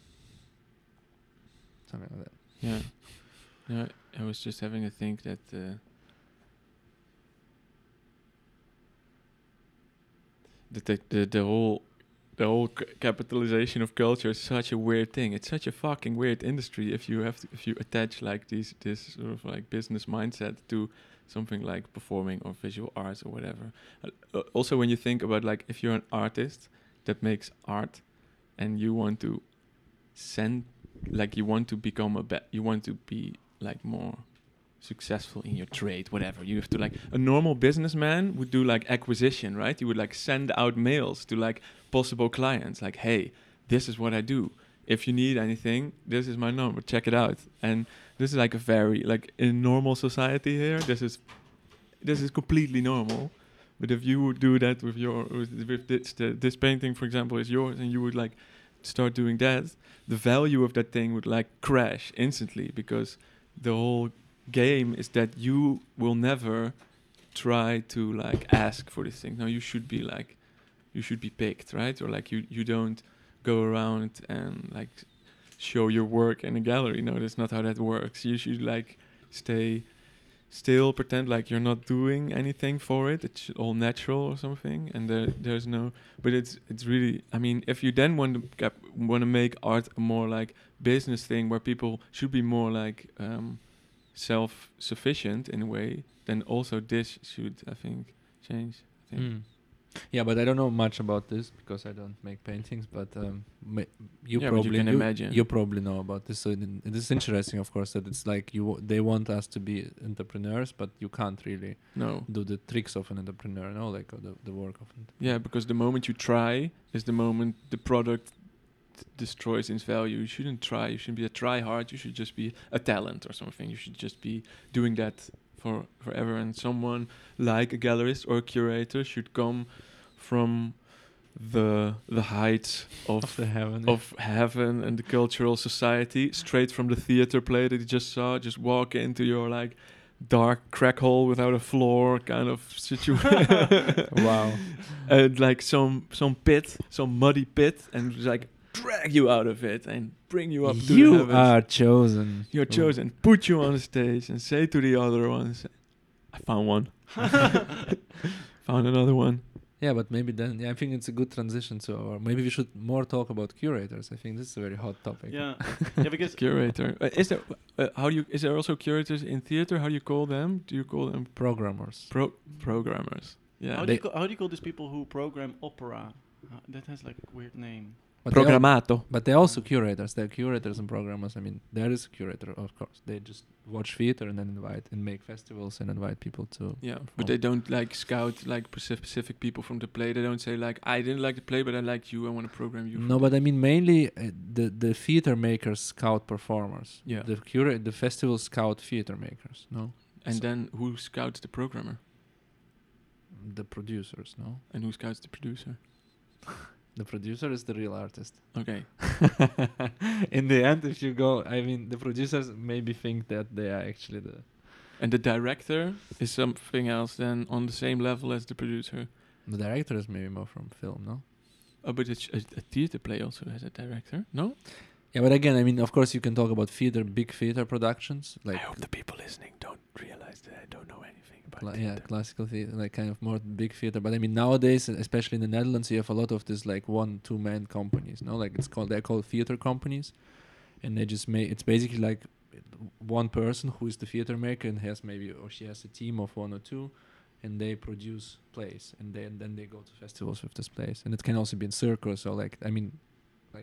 something like that. Yeah. No, I was just having a think that uh, that the, the the whole the whole c- capitalization of culture is such a weird thing. It's such a fucking weird industry if you have to, if you attach like these this sort of like business mindset to something like performing or visual arts or whatever. Uh, uh, also, when you think about like if you're an artist that makes art and you want to send like you want to become a be- you want to be like more successful in your trade, whatever. You have to like a normal businessman would do like acquisition, right? You would like send out mails to like possible clients, like, hey, this is what I do. If you need anything, this is my number. Check it out. And this is like a very like in normal society here. This is this is completely normal. But if you would do that with your with, with this the, this painting, for example, is yours, and you would like start doing that, the value of that thing would like crash instantly, because the whole game is that you will never try to like ask for this thing. No, you should be like you should be picked, right? Or like you you don't go around and like show your work in a gallery. No, that's not how that works. You should like stay still, pretend like you're not doing anything for it. It's all natural or something, and there there's no. But it's it's really. I mean, if you then want to cap- want to make art a more like business thing where people should be more like um, self-sufficient in a way, then also this should, I think, change. I think. Mm. Yeah, but I don't know much about this because I don't make paintings. But um, ma- you Yeah, but you probably can you, imagine. you probably know about this. So it, it is interesting, of course, that it's like you w- they want us to be entrepreneurs, but you can't really No. do the tricks of an entrepreneur, no, like uh, the the work of an Yeah, because the moment you try is the moment the product d- destroys its value. You shouldn't try. You shouldn't be a try hard. You should just be a talent or something. You should just be doing that for forever. And someone like a gallerist or a curator should come from the the heights of of the heaven. of heaven and the cultural society, straight from the theater play that you just saw. Just walk into your like dark crack hole without a floor kind of situation. Wow. And like some some pit, some muddy pit, and just, like drag you out of it and bring you up to the You heavens. are chosen. You're chosen. Put you on the stage and say to the other ones, "I found one. Found another one." Yeah, but maybe then yeah, I think it's a good transition to our. Maybe we should more talk about curators. I think this is a very hot topic. Yeah, yeah, because Curator. Uh, is there? Uh, how do you? Is there also curators in theater? How do you call them? Do you call them Programmers. pro programmers? Yeah. how do They- you call, how do you call these people who program opera? Uh, that has like a weird name. But they al- Programato. But they're also curators. They're curators and programmers. I mean, there is a curator, of course. They just watch theater and then invite and make festivals and invite people to. Yeah, perform. but they don't like scout like specific people from the play. They don't say like, I didn't like the play, but I like you. I want to program you. No, but I mean mainly uh, the the theater makers scout performers. Yeah. The cura- the festival scout theater makers. No. And So- then who scouts the programmer? The producers. No. And who scouts the producer? The producer is the real artist. Okay. In the end, if you go, I mean, the producers maybe think that they are actually the. And the director is something else than on the same level as the producer. The director is maybe more from film, no? Oh, but it's a, a theater play also has a director. No. Yeah, but again, I mean, of course, you can talk about theater, big theater productions, like I hope the people listening don't realize that I don't know anything about cla- yeah, theater. classical theater, like kind of more big theater. But I mean, nowadays, especially in the Netherlands, you have a lot of this like one, two man companies. No, like it's called they're called theater companies, and they just make it's basically like one person who is the theater maker and has maybe or she has a team of one or two, and they produce plays, and then then they go to festivals with this plays, and it can also be in circus or like I mean, like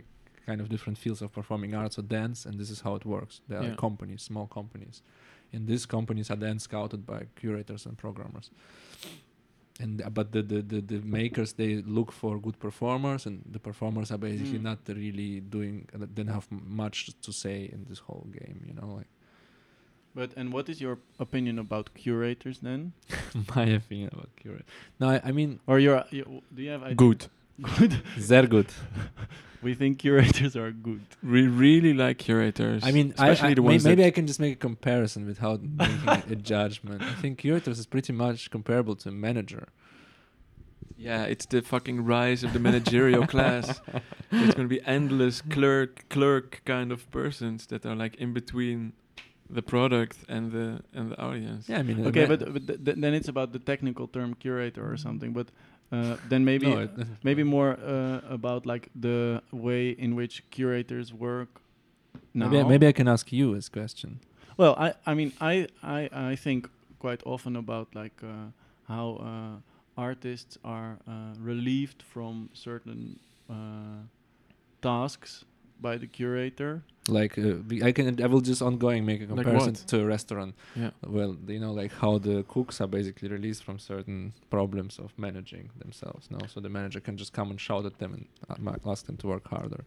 kind of different fields of performing arts or dance, and this is how it works. There are Yeah. companies, small companies, and these companies are then scouted by curators and programmers. And uh, but the, the the the makers, they look for good performers, and the performers are basically Mm. not really doing. Uh, they don't have m- much to say in this whole game, you know. Like But and what is your opinion about curators then? my opinion about curators. No, I, I mean Or your, your do you have idea? Good. Good. they're good. We think curators are good. We really like curators. I mean, I, especially I, the may- ones maybe that I can just make a comparison without making a, a judgment. I think curators is pretty much comparable to a manager. Yeah, it's the fucking rise of the managerial class. It's going to be endless clerk, clerk kind of persons that are like in between the product and the and the audience. Yeah, I mean, a Okay, ma- but, but th- th- then it's about the technical term curator or something. But uh, then maybe no, it, maybe more uh, about like the way in which curators work now. maybe, I- maybe I can ask you this question. Well, I I mean I I I think quite often about like uh, how uh, artists are uh, relieved from certain uh, tasks by the curator. Like uh, we- I can, I will just ongoing make a Like comparison what? to a restaurant. Yeah. Well, you know, like how the cooks are basically released from certain problems of managing themselves. No, so the manager can just come and shout at them and uh, ma- ask them to work harder.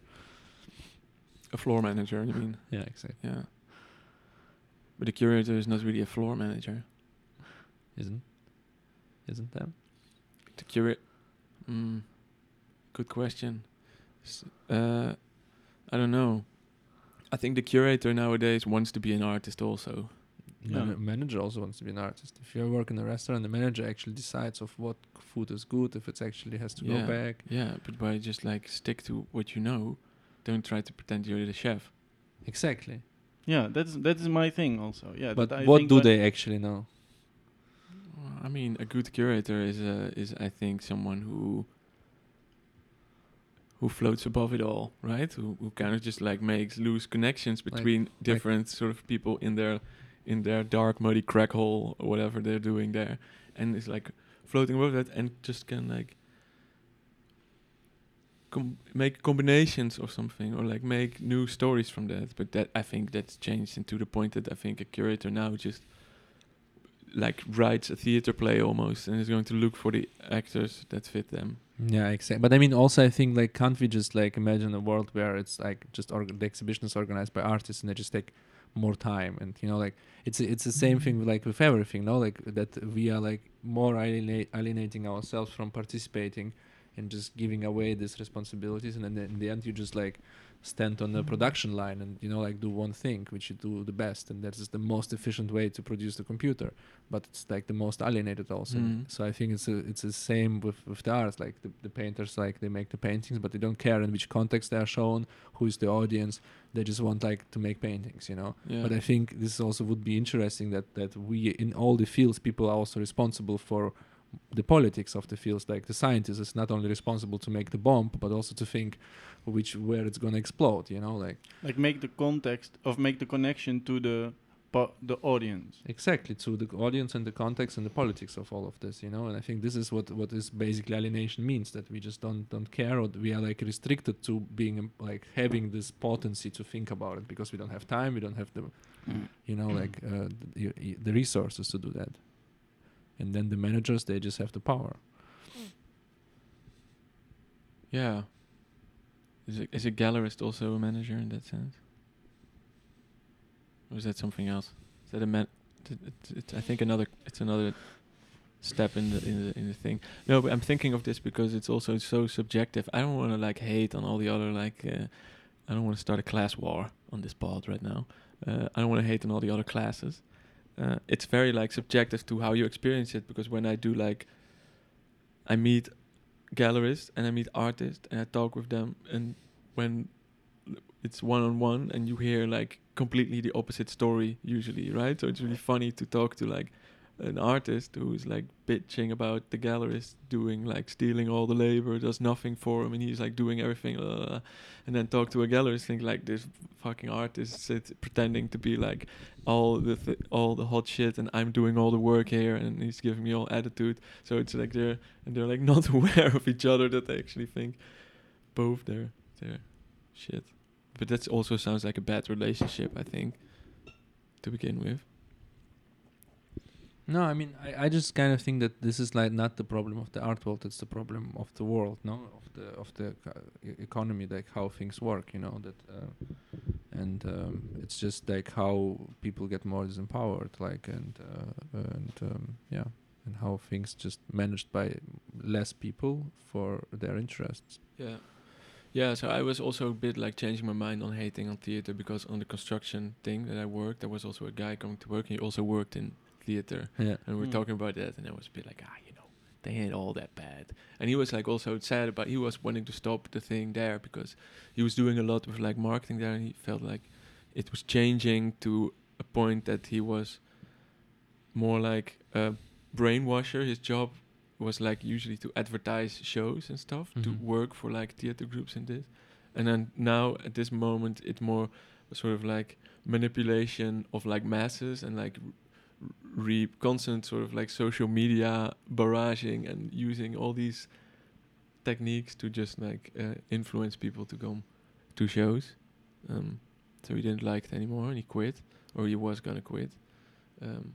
A floor manager, you mean? Yeah, exactly. Yeah. But the curator is not really a floor manager. Isn't isn't that? The curate. Mm, good question. S- uh, I don't know. I think the curator nowadays wants to be an artist also. Yeah. Man- manager also wants to be an artist. If you work in a restaurant, the manager actually decides of what food is good, if it actually has to Yeah. go back. Yeah, but by just like stick to what you know, don't try to pretend you're the chef. Exactly. Yeah, that's that is my thing also. Yeah, But that I what think do when- they actually know? Well, I mean, a good curator is uh, is I think someone who who floats above it all, right? Who who kind of just like makes loose connections Like- between different sort of people in their in their dark muddy crack hole or whatever they're doing there, and is like floating above that and just can like com- make combinations or something, or like make new stories from that. But that I think that's changed into the point that I think a curator now just like writes a theater play almost and is going to look for the actors that fit them. Yeah, exactly. But I mean, also, I think like can't we just like imagine a world where it's like just org- the exhibition is organized by artists and they just take more time, and you know, like it's it's the same thing like with everything, no? Like that we are like more alienate, alienating ourselves from participating and just giving away these responsibilities, and then in the end you just like stand on the production line and you know like do one thing which you do the best, and that is the most efficient way to produce the computer, but it's like the most alienated also. Mm. So I think it's a, it's the same with with the arts, like the, the painters, like they make the paintings but they don't care in which context they are shown, who is the audience, they just want like to make paintings, you know. Yeah. But I think this also would be interesting that that we in all the fields people are also responsible for the politics of the fields. Like the scientist is not only responsible to make the bomb but also to think which where it's going to explode, you know, like like make the context of make the connection to the po- the audience. exactly to the audience and the context and the politics of all of this, you know. And I think this is what what is basically alienation means, that we just don't don't care, or we are like restricted to being um, like having this potency to think about it because we don't have time, we don't have the you know like uh, the, the the resources to do that. And then the managers, they just have the power. Yeah. Is a, is a gallerist also a manager in that sense? Or is that something else? Is that a man? T- t- it's, I think another. It's another step in the in the in the thing. No, but I'm thinking of this because it's also so subjective. I don't want to like hate on all the other like. Uh, I don't want to start a class war on this pod right now. Uh, I don't want to hate on all the other classes. Uh, it's very like subjective to how you experience it, because when I do like, I meet gallerists and I meet artists and I talk with them, and when it's one on one and you hear like completely the opposite story usually, right? So it's really funny to talk to like an artist who's like bitching about the gallerist doing like stealing all the labor, does nothing for him, and he's like doing everything, blah, blah, blah. And then talk to a gallerist, think like this fucking artist sits pretending to be like all the th- all the hot shit, and I'm doing all the work here, and he's giving me all attitude. So it's like they're and they're like not aware of each other, that they actually think both they're they're shit. But that also sounds like a bad relationship, I think, to begin with. No, I mean, I, I just kind of think that this is like not the problem of the art world; it's the problem of the world, no, of the of the uh, e- economy, like how things work, you know. That, uh, and um, it's just like how people get more disempowered, like, and uh, and um, yeah, and how things just managed by less people for their interests. Yeah. Yeah, so I was also a bit like changing my mind on hating on theater, because on the construction thing that I worked, there was also a guy coming to work, and he also worked in theater. Yeah. And we were Mm. talking about that, and I was a bit like, ah, you know, they ain't all that bad. And he was like also sad about, he was wanting to stop the thing there, because he was doing a lot with like marketing there, and he felt like it was changing to a point that he was more like a brainwasher. His job was like usually to advertise shows and stuff, to Mhm. work for like theater groups and this. And then now at this moment, it's more sort of like manipulation of like masses and like r- re constant sort of like social media barraging and using all these techniques to just like uh, influence people to come to shows. Um, so he didn't like it anymore, and he quit, or he was gonna quit. Um,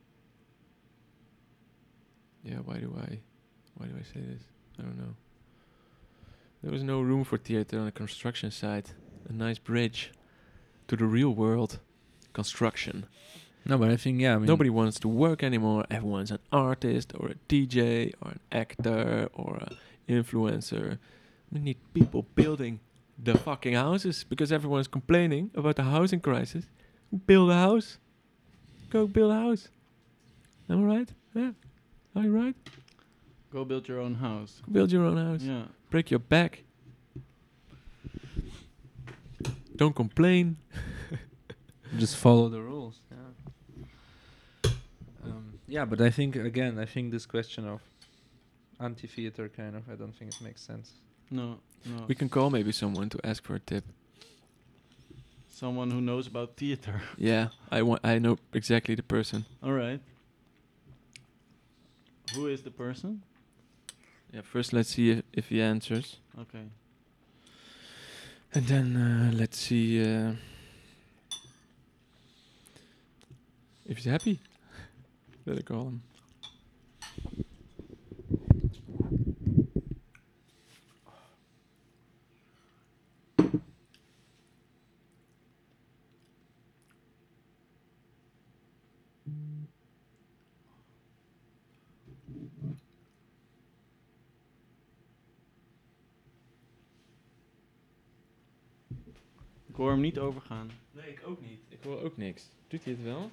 yeah, why do I, why do I say this? I don't know. There was no room for theater on a construction site. A nice bridge to the real world. Construction. No, but I think yeah, I mean, Nobody wants to work anymore. Everyone's an artist or a D J or an actor or an influencer. We need people building the fucking houses, because everyone's complaining about the housing crisis. Build a house. Go build a house. Am I right? Yeah. Are you right? Go build your own house. Go build your own house. Yeah. Break your back. Don't complain. just follow the rules. Yeah. Um, yeah, but I think again, I think this question of anti-theater kind of, I don't think it makes sense. No, no. We can call maybe someone to ask for a tip. Someone who knows about theater. Yeah, I want. I know exactly the person. All right. Who is the person? Yeah, first let's see if, if he answers, Okay. and then uh, let's see uh, if he's happy. Better call him. Ik hoor hem niet overgaan. Nee, ik ook niet. Ik hoor ook niks. Doet hij het wel?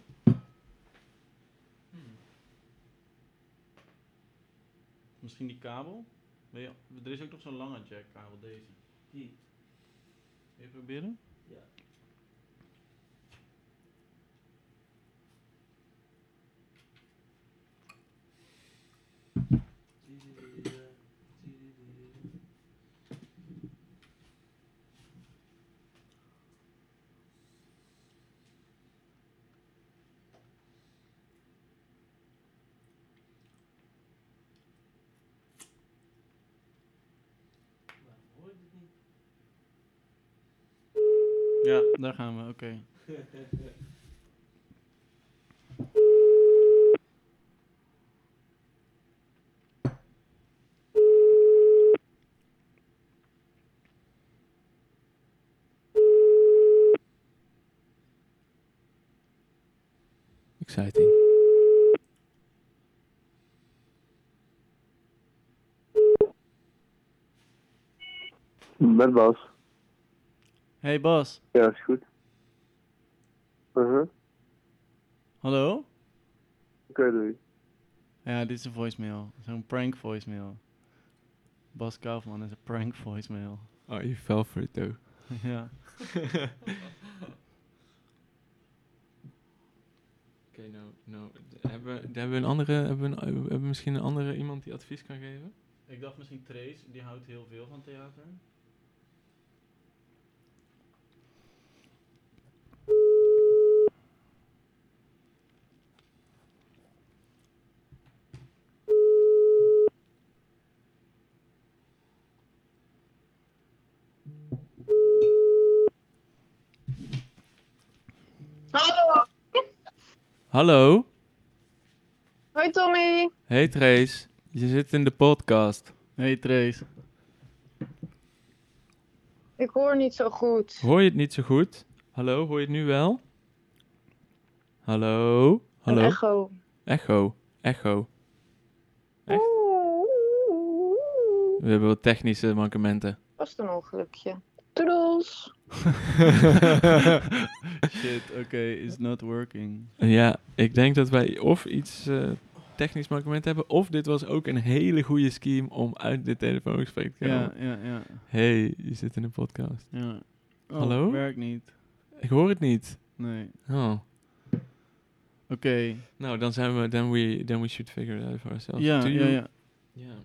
Misschien die kabel? Wil je, er is ook nog zo'n lange jackkabel, deze. Die. Wil je proberen? Ja. Ja, daar gaan we, oké. Exciting. Met Bas. Hey Bas. Ja, is goed. Uh-huh. Hallo? Oké, doei. Ja, dit is een voicemail. Zo'n prank voicemail. Bas Kaufman is een prank voicemail. Oh, you fell for it though. Ja. Oké, nou, nou, d- hebben we, hebben we een andere, hebben we, een, hebben we misschien een andere iemand die advies kan geven? Ik dacht misschien Trace, die houdt heel veel van theater. Hallo? Hoi Tommy. Hey Trace, je zit in de podcast. Hey Trace. Ik hoor niet zo goed. Hoor je het niet zo goed? Hallo, hoor je het nu wel? Hallo? Hallo? Een echo. Echo. Echo. Echt? Oeh. We hebben wat technische mankementen. Was een ongelukje. Toedels. Shit, okay, it's not working. Ja, ik denk dat wij of iets uh, technisch mankement hebben, of dit was ook een hele goede scheme om uit dit telefoongesprek te komen. Ja, ja, ja. Hey, je zit in een podcast. ja. Oh, Hallo? Werkt niet. Ik hoor het niet. Nee. Oh. Oké. Nou, dan zijn we, then we, then we should figure it out for ourselves. Ja, Do ja, you- ja. Ja.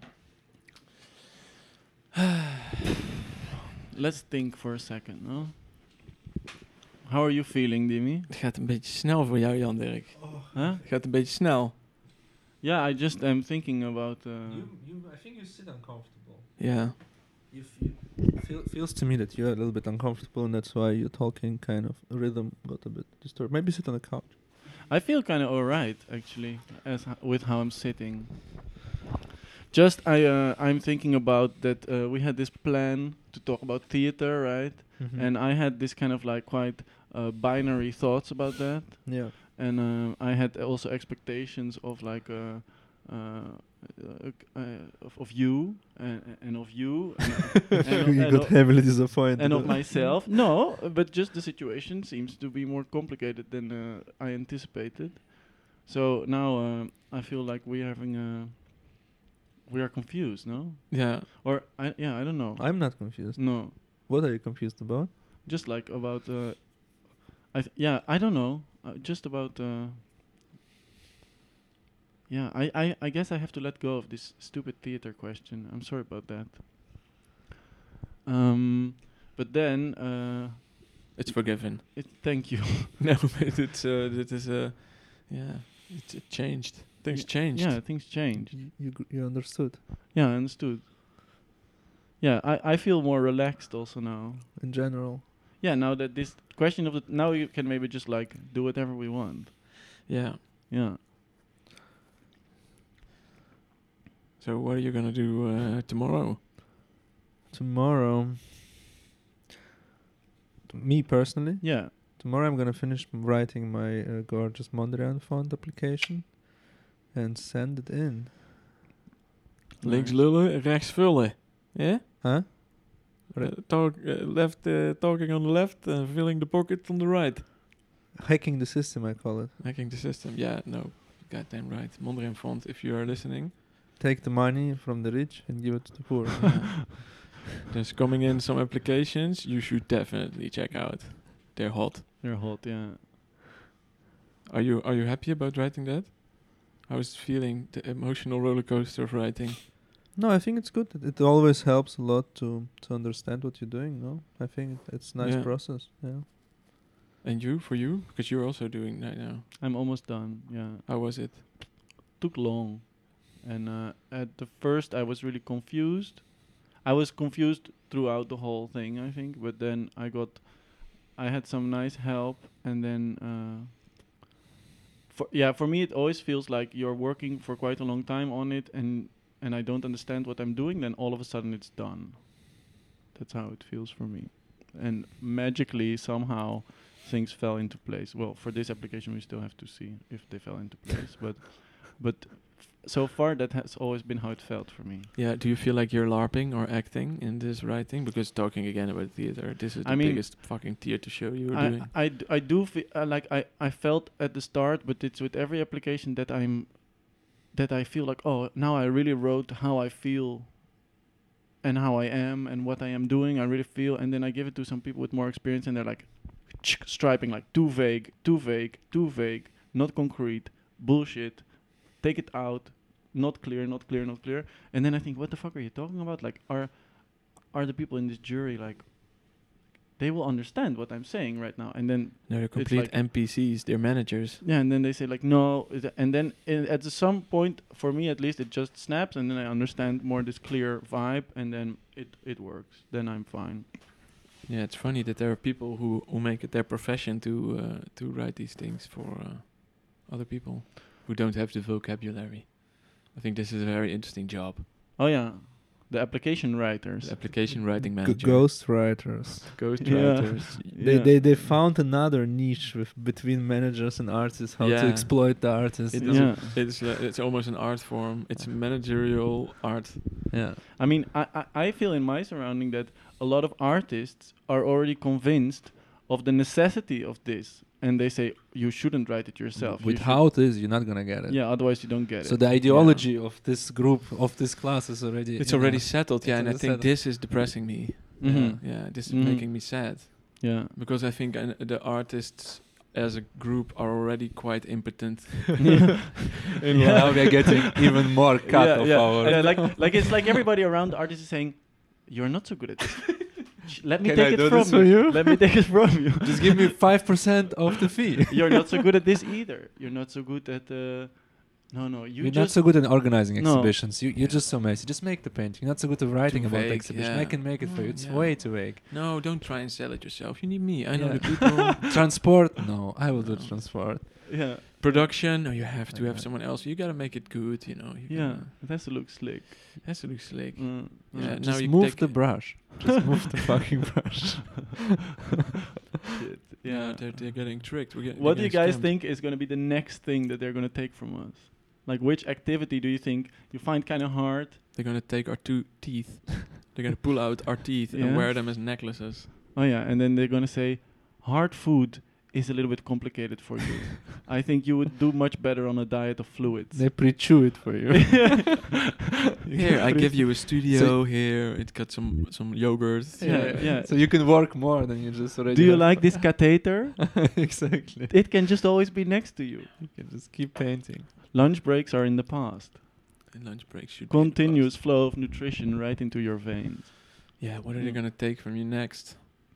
Let's think for a second, no? How are you feeling, Dimi? Het gaat een beetje snel voor jou, Jan Dirk. Huh? Het gaat een beetje snel. Yeah, I just am thinking about... Uh, You, you, I think you sit uncomfortable. Ja. You feel, feel feels to me that you're a little bit uncomfortable, and that's why your talking kind of rhythm got a bit disturbed. Maybe sit on the couch. I feel kind of alright, actually, as h- with how I'm sitting. Just, I, uh, I'm thinking about that uh, we had this plan to talk about theater, right? Mm-hmm. And I had this kind of like quite uh, binary thoughts about that. Yeah. And uh, I had also expectations of like uh, uh, uh, uh, of, of you and, and of you and, and, you and got of- heavily disappointed. and of myself. No, uh, but just the situation seems to be more complicated than uh, I anticipated. So now uh, I feel like we're having a we are confused, no? Ja. Or I yeah, I don't know. I'm not confused. no, What are you confused about? just like about uh, I th- yeah, I don't know. Uh, just about uh, yeah, I, I I guess I have to let go of this stupid theater question. I'm sorry about that. Um, but then uh, It's forgiven. it, thank you. No, but it's, uh, dit is, uh, yeah, it's it changed. Things Yeah, changed. Yeah, things change. You, you, gr- you understood. Yeah, I understood. Yeah, I, I feel more relaxed also now. In general. Yeah, now that this question of the now you can maybe just like do whatever we want. Yeah. Yeah. So what are you gonna do uh, tomorrow? Tomorrow, t- me personally, Yeah. tomorrow I'm gonna finish m- writing my uh, gorgeous Mondrian font application and send it in. Links Nice. lullen, rechts vullen. Yeah? Huh? Uh, Re- talk, uh, left, uh, talking on the left and filling the pocket on the right. Hacking the system, I call it. Hacking the system. Yeah, no. Goddamn right. Mondrian font, if you are listening. Take the money from the rich and give it to the poor. Yeah. There's coming in some applications you should definitely check out. They're hot. You're hot, yeah. Are you are you happy about writing that? How is it feeling, the emotional roller coaster of writing? No, I think it's good. It, it always helps a lot to to understand what you're doing. No, I think it, it's a nice Yeah. process. Yeah. And you, for you? Because you're also doing that now. I'm almost done. Yeah. How was it? Took long. And uh, at the first I was really confused. I was confused throughout the whole thing, I think, but then I got I had some nice help and then uh for yeah, for me it always feels like you're working for quite a long time on it and and I don't understand what I'm doing, then all of a sudden it's done. That's how it feels for me. And magically somehow things fell into place. Well, for this application we still have to see if they fell into place, but but f- so far that has always been how it felt for me. Yeah, do you feel like you're LARPing or acting in this writing? Because talking again about theater, this is I the mean, biggest fucking theater show you were I, doing. I, d- I do fe- uh, like I, I felt at the start, but it's with every application that I'm that I feel like, oh, now I really wrote how I feel and how I am and what I am doing. I really feel, and then I give it to some people with more experience, and they're like striping like too vague, too vague, too vague, not concrete, bullshit. Take it out, not clear, not clear, not clear. And then I think, what the fuck are you talking about? Like, are are the people in this jury like? They will understand what I'm saying right now, and then No, they're complete like- N P Cs. They're managers. yeah, and then they say like no, is it- and then i- at the some point, for me at least, it just snaps, and then I understand more this clear vibe, and then it it works. Then I'm fine. Yeah, it's funny that there are people who, who make it their profession to uh, to write these things for uh, other people who don't have the vocabulary. I think this is a very interesting job. Oh yeah, the application writers. The application writing G- manager. ghost writers. Ghost Yeah. writers. They, Yeah. they they found another niche with between managers and artists, how to Yeah. exploit the artists. It you is know? Yeah. It's uh, it's almost an art form. It's managerial art. Yeah. I mean, I, I I feel in my surrounding that a lot of artists are already convinced of the necessity of this, and they say you shouldn't write it yourself. You With should- how it is, you're not gonna get it. Yeah, otherwise you don't get So it. the ideology of this group, of this class, is already. It's you already know, settled, yeah, it's and I already think settled. this is depressing me. Mhm. Yeah, yeah, this is Mhm. making me sad Yeah. because I think uh, the artists as a group are already quite impotent. And now we're getting even more cut yeah, of yeah. our. Yeah, like like it's like everybody around the artist is saying, "You're not so good at this. Sh- Let me Can take I it do from this for you? Let me take it from you. Just give me five percent of the fee. You're not so good at this either. You're not so good at uh, no no. You You're not just so good at organizing No. exhibitions. You, you're just so messy. Just make the painting. You're not so good at writing Too about the vague, exhibition. I yeah. can make it for you. Mm, It's yeah. way too vague. No, don't try and sell it yourself. You need me. I know Yeah. the people. Transport? No, I will do No. transport. yeah Production? No, you have to have Okay. someone else. You gotta make it good. You know. You yeah. gotta- It has to look slick. has to look slick. Mm, Yeah, mm. now Just you move take the it- brush. Just move the fucking brush. Shit. Yeah, Yeah. they're, they're getting tricked. We're get, What do we're you getting guys scammed. think is going to be the next thing that they're going to take from us? Like, which activity do you think you find kind of hard? They're gonna take our two teeth. They're gonna pull out our teeth Yeah. and wear them as necklaces. Oh yeah, and then they're going to say, hard food is a little bit complicated for you. I think you would do much better on a diet of fluids. They pre-chew it for you. Here, I give you a studio. Here, it got some some yogurt. Yeah, yeah. So you can work more than you just already. Do you have. like this catheter? Exactly. It can just always be next to you. You can just keep painting. Lunch breaks are in the past. And lunch breaks should be in the Continuous past. flow of nutrition right into your veins. Yeah, what are they Mm. gonna take from you next?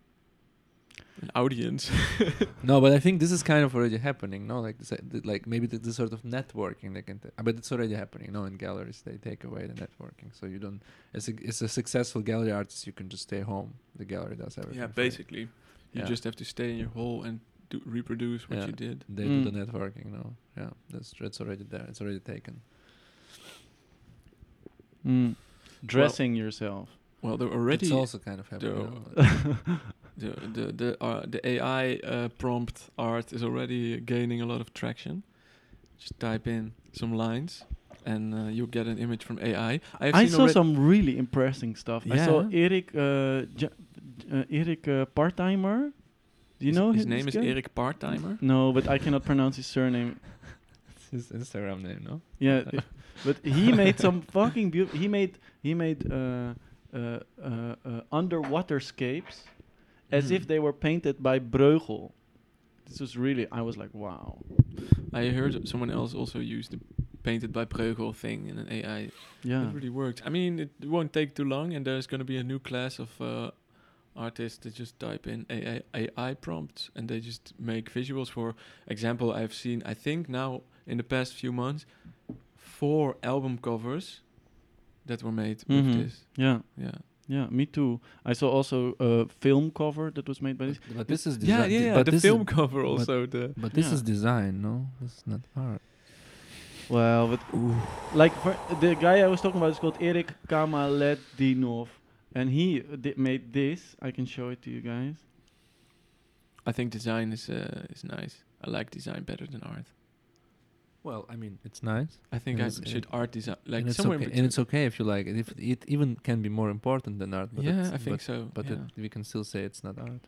An audience. No, but I think this is kind of already happening. No, like this, uh, th- like maybe the, the sort of networking they can. T- but it's already happening. No, in galleries they take away the networking, so you don't. As a, as a successful gallery artist, you can just stay home. The gallery does everything. yeah, for you. basically, you Yeah. just have to stay in your hole and do reproduce what Yeah. you did. They Mm. do the networking. No, yeah, that's tr- it's already there. It's already taken. Mm. Dressing yourself. Well, they're already it's also kind of happening. the- no? the the the uh, the A I uh, prompt art is already gaining a lot of traction. Just type in some lines, and uh, you'll get an image from A I. I've I seen saw alre- some really impressing stuff. I saw Yeah. Erik, uh, J- uh, Erik uh, Parttimer. Do you his, know his hi- name this is guy? Erik Parttimer. No, but I cannot pronounce his surname. It's his Instagram name, no? Yeah, i- but he made some fucking beautiful. He made he made uh, uh, uh, uh, underwater scapes as Mm. if they were painted by Breugel. This was really. I was like, wow. I heard someone else also use the painted by Breugel thing in an A I. Yeah. It really worked. I mean, it won't take too long, and there's going to be a new class of uh, artists that just type in A I, A I prompts, and they just make visuals. For example, I've seen, I think now in the past few months, four album covers that were made Mhm. with this. Yeah. Yeah. Yeah. Me too. I saw also a film cover that was made by this. But this is Yeah, design. yeah, yeah. But the this film is, cover but- also. the But this Yeah. is design, no? This is not art. Well, but like for the guy I was talking about is called Erik Kamaledinov, and he uh, di- made this. I can show it to you guys. I think design is uh, is nice. I like design better than art. Well, I mean, it's nice. I think And I it's- should art design like and it's somewhere okay. in And between. it's okay if you like it. If it even can be more important than art. But Yeah, it's- I think but, so. But yeah. it, we can still say it's not art.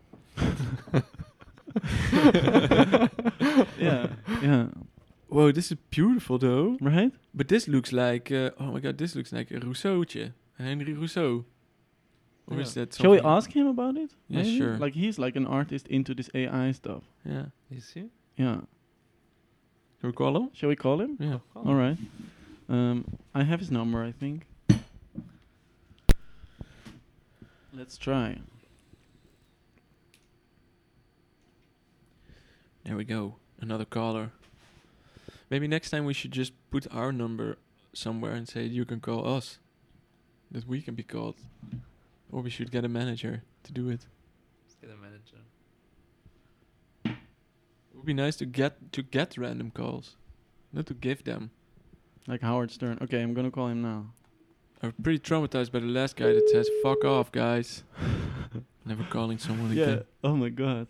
Yeah. Yeah. Whoa, this is beautiful though. Right. But this looks like, uh, oh my god, this looks like a Rousseau'tje. Henry Rousseau. Or is that Shall we something- ask him about it? Yeah, Maybe? sure. Like he's like an artist into this A I stuff. Yeah. You see? Yeah. Can we call him? Shall we call him? Yeah. All right. Um, I have his number, I think. Let's try. There we go. Another caller. Maybe next time we should just put our number somewhere and say you can call us. That we can be called. Or we should get a manager to do it. Let's get a manager. It would be nice to get to get random calls, not to give them. Like Howard Stern. Okay, I'm gonna call him now. I'm pretty traumatized by the last guy that says "fuck off, guys." Never calling someone Yeah. again. Oh my god.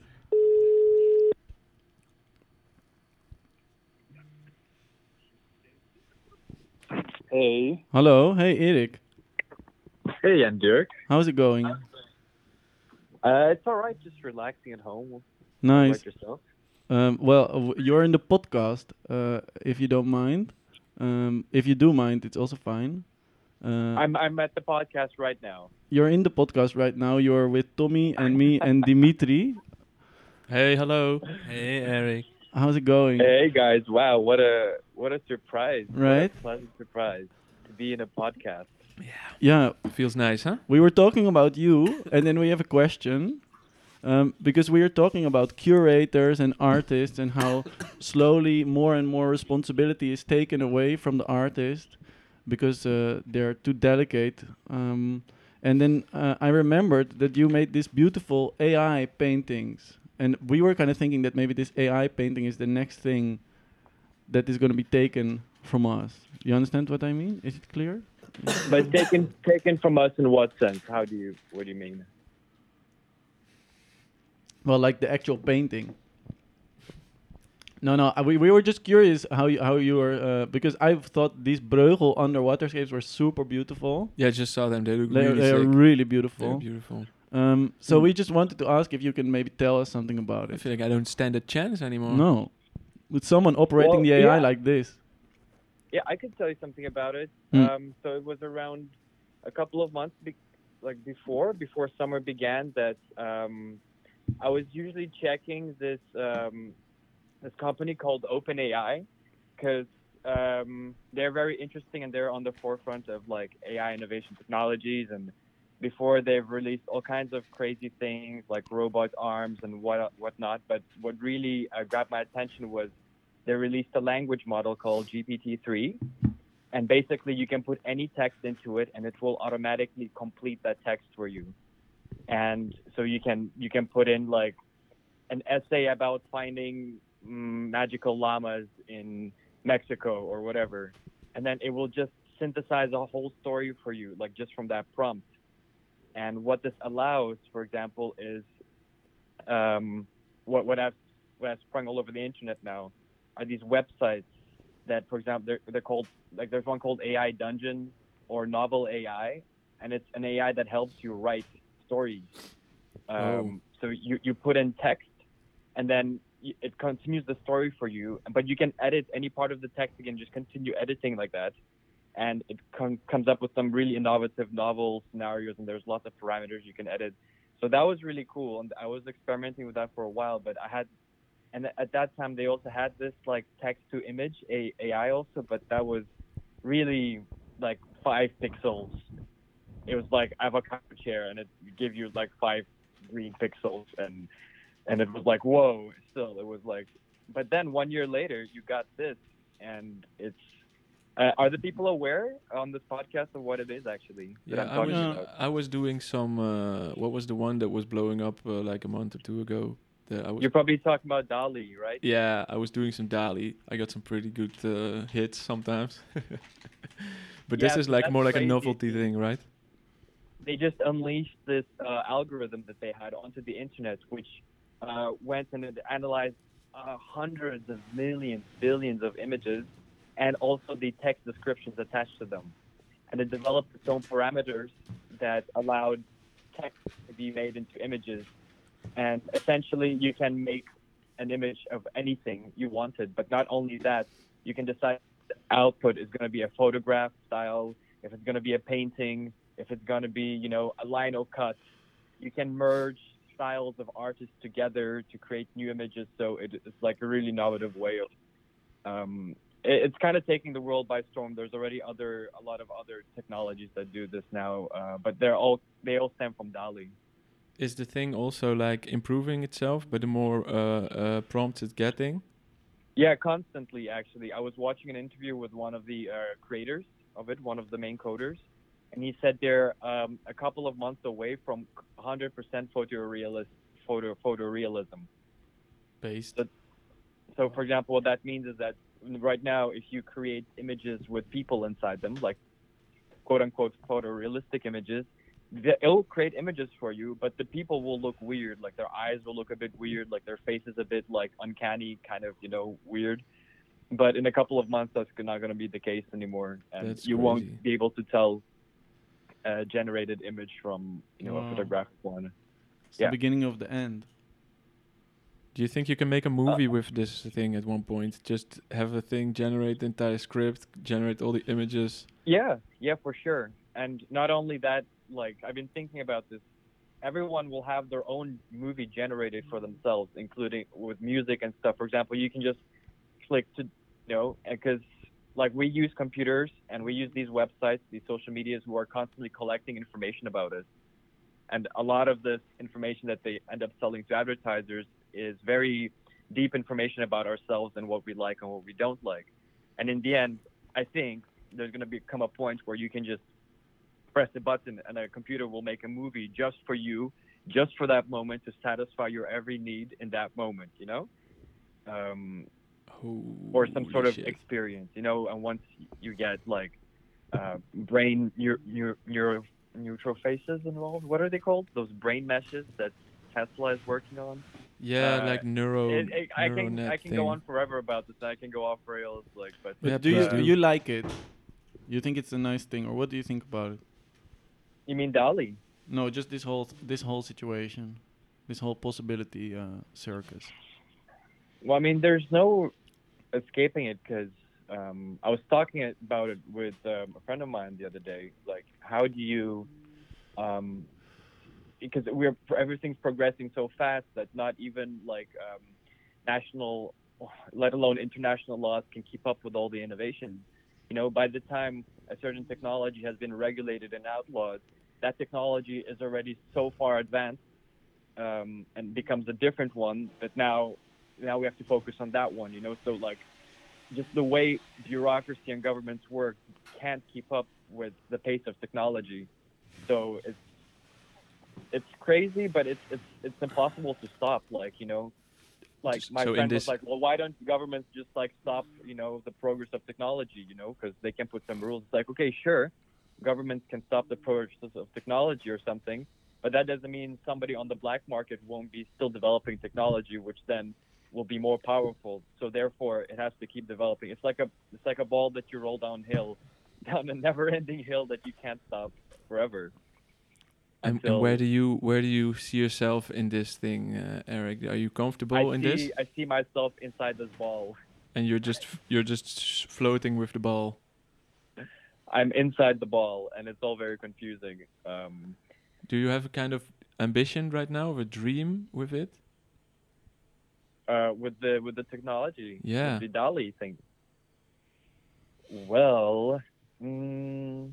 Hey. Hello. Hey, Erik. Hey, and Dirk. How's it going? Uh, it's all right, just relaxing at home. How Nice. about yourself? Um, well, uh, w- you're in the podcast. Uh, if you don't mind. Um, if you do mind, it's also fine. Uh, I'm I'm at the podcast right now. you're in the podcast right now. You're with Tommy and me and Dimitri. Hey, hello. Hey, Eric. How's it going? Hey guys, wow, what a what a surprise. Right? What a pleasant surprise to be in a podcast. Yeah, Feels nice, huh? we were talking about you, and then we have a question. Um, because we are talking about curators and artists and how slowly more and more responsibility is taken away from the artist because uh, they're too delicate. Um, and then uh, I remembered that you made these beautiful A I paintings. And we were kind of thinking that maybe this A I painting is the next thing that is going to be taken from us. You understand what I mean? Is it clear? But taken taken from us in what sense? How do you what do you mean? Well, like the actual painting. No, no. uh, We we were just curious how you how you were uh, because I thought these Breugel underwaterscapes were super beautiful. Yeah, I just saw them. They look They're, really they're sick. really They're beautiful. beautiful. Um, so Mm. we just wanted to ask if you can maybe tell us something about I it. feel like I don't stand a chance anymore. No, with someone operating Well, the A I yeah. like this. Yeah, I could tell you something about it. Hmm. Um, so it was around a couple of months, be- like before, before summer began, that um, I was usually checking this um, this company called OpenAI because um, they're very interesting and they're on the forefront of like A I innovation technologies. And before they've released all kinds of crazy things like robot arms and what whatnot. But what really uh, grabbed my attention was they released a language model called G P T three, and basically you can put any text into it and it will automatically complete that text for you. And so you can you can put in like an essay about finding mm, magical llamas in Mexico or whatever, and then it will just synthesize a whole story for you, like just from that prompt. And what this allows, for example, is um, what what I've what I've sprung all over the internet now are these websites that, for example, they're they're called like there's one called A I Dungeon or Novel A I, and it's an A I that helps you write stories. Um, Oh. So you you put in text, and then y- it continues the story for you. But you can edit any part of the text again, just continue editing like that, and it com- comes up with some really innovative novel scenarios. And there's lots of parameters you can edit. So that was really cool, and I was experimenting with that for a while. But I had, and at that time they also had this like text to image a AI also, but that was really like five pixels. It was like avocado chair, and it give you like five green pixels, and and it was like whoa. Still, it was like, but then one year later, you got this, and it's. Uh, are the people aware on this podcast of what it is actually that Yeah, I'm I talking was Yeah. about? I was doing some. Uh, what was the one that was blowing up uh, like a month or two ago? That I was. You're probably talking about DALL-E, right? Yeah, I was doing some DALI. I got some pretty good uh, hits sometimes. But this Yeah, is so like that's more like a crazy. novelty thing, right? They just unleashed this uh, algorithm that they had onto the internet, which uh, went and it analyzed uh, hundreds of millions, billions of images, and also the text descriptions attached to them. And it developed its own parameters that allowed text to be made into images. And essentially, you can make an image of anything you wanted. But not only that, you can decide the output is going to be a photograph style, if it's going to be a painting, if it's going to be, you know, a lino cut. You can merge styles of artists together to create new images. So it, it's like a really innovative way of. Um, it, it's kind of taking the world by storm. There's already other a lot of other technologies that do this now, uh, but they're all they all stem from DALL-E. Is the thing also like improving itself, but the more uh, uh, prompts it's getting? Yeah, constantly, actually. I was watching an interview with one of the uh, creators of it, one of the main coders, and he said they're um, a couple of months away from one hundred percent photorealist, photo, photorealism. Based. So- so, for example, what that means is that right now, if you create images with people inside them, like quote unquote photorealistic images, the- it'll create images for you, but the people will look weird. Like their eyes will look a bit weird, like their face is a bit like uncanny, kind of, you know, weird. But in a couple of months, that's not going to be the case anymore, and That's you crazy. won't be able to tell a generated image from, you know, Wow. a photographic one. It's Yeah. the beginning of the end. Do you think you can make a movie with this thing at one point? Just have a thing generate the entire script, generate all the images. Yeah, yeah, for sure. And not only that, like I've been thinking about this. Everyone will have their own movie generated for themselves, including with music and stuff. For example, you can just click to, you know, because like we use computers and we use these websites, these social medias who are constantly collecting information about us. And a lot of this information that they end up selling to advertisers is very deep information about ourselves and what we like and what we don't like. And in the end, I think there's going to become a point where you can just press a button and a computer will make a movie just for you, just for that moment to satisfy your every need in that moment, you know? Um, or some sort Holy of shit. experience, you know? And once you get like uh, brain neuro, neuro, neuro, neutral faces involved, what are they called? Those brain meshes that Tesla is working on? Yeah, Uh, like neuro. It, it, I can neuronet I can thing. go on forever about this. I can go off rails, like, but But Yeah, do you please do. you like it? You think it's a nice thing, or what do you think about it? you mean DALL-E? No, just this whole this whole situation, this whole possibility uh, circus. Well, I mean, there's no escaping it because um, I was talking about it with um, a friend of mine the other day. Like, how do you? Um, because we're everything's progressing so fast that not even like um, national, let alone international laws can keep up with all the innovation. You know, by the time a certain technology has been regulated and outlawed, that technology is already so far advanced um, and becomes a different one that now now we have to focus on that one. You know, so like just the way bureaucracy and governments work can't keep up with the pace of technology. So it's it's crazy, but it's it's it's impossible to stop. Like, you know, like S- my so in friend was this- like, well, why don't governments just like stop, you know, the progress of technology, you know, because they can put some rules. It's like, okay, sure, governments can stop the progress of technology or something, but that doesn't mean somebody on the black market won't be still developing technology, which then will be more powerful. So therefore, it has to keep developing. It's like a it's like a ball that you roll downhill, down a never-ending hill that you can't stop forever. And, and where do you where do you see yourself in this thing, uh, Eric? Are you comfortable I in see, this? I see myself inside this ball. And you're just f- you're just s- floating with the ball. I'm inside the ball, and it's all very confusing. Um, Do you have a kind of ambition right now, or a dream with it? uh, with the with the technology, Yeah. with the DALL-E thing. Well, mm,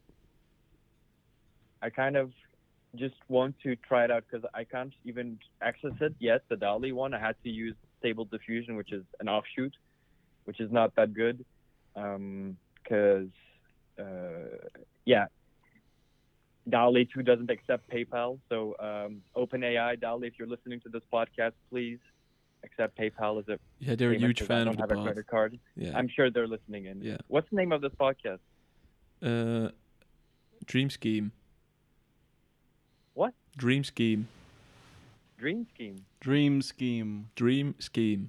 I kind of just want to try it out because I can't even access it yet. The DALL-E one, I had to use Stable Diffusion, which is an offshoot, which is not that good. Because, uh, yeah, DALL-E two doesn't accept PayPal. So um, OpenAI, DALL-E, if you're listening to this podcast, please accept PayPal as a Yeah, they're a payment huge 'cause fan I of don't the have a pod. credit card. Yeah. I'm sure they're listening in. Yeah. What's the name of this podcast? Uh, Dream Scheme. What? Dream Scheme. Dream Scheme. Dream scheme. Dream Scheme.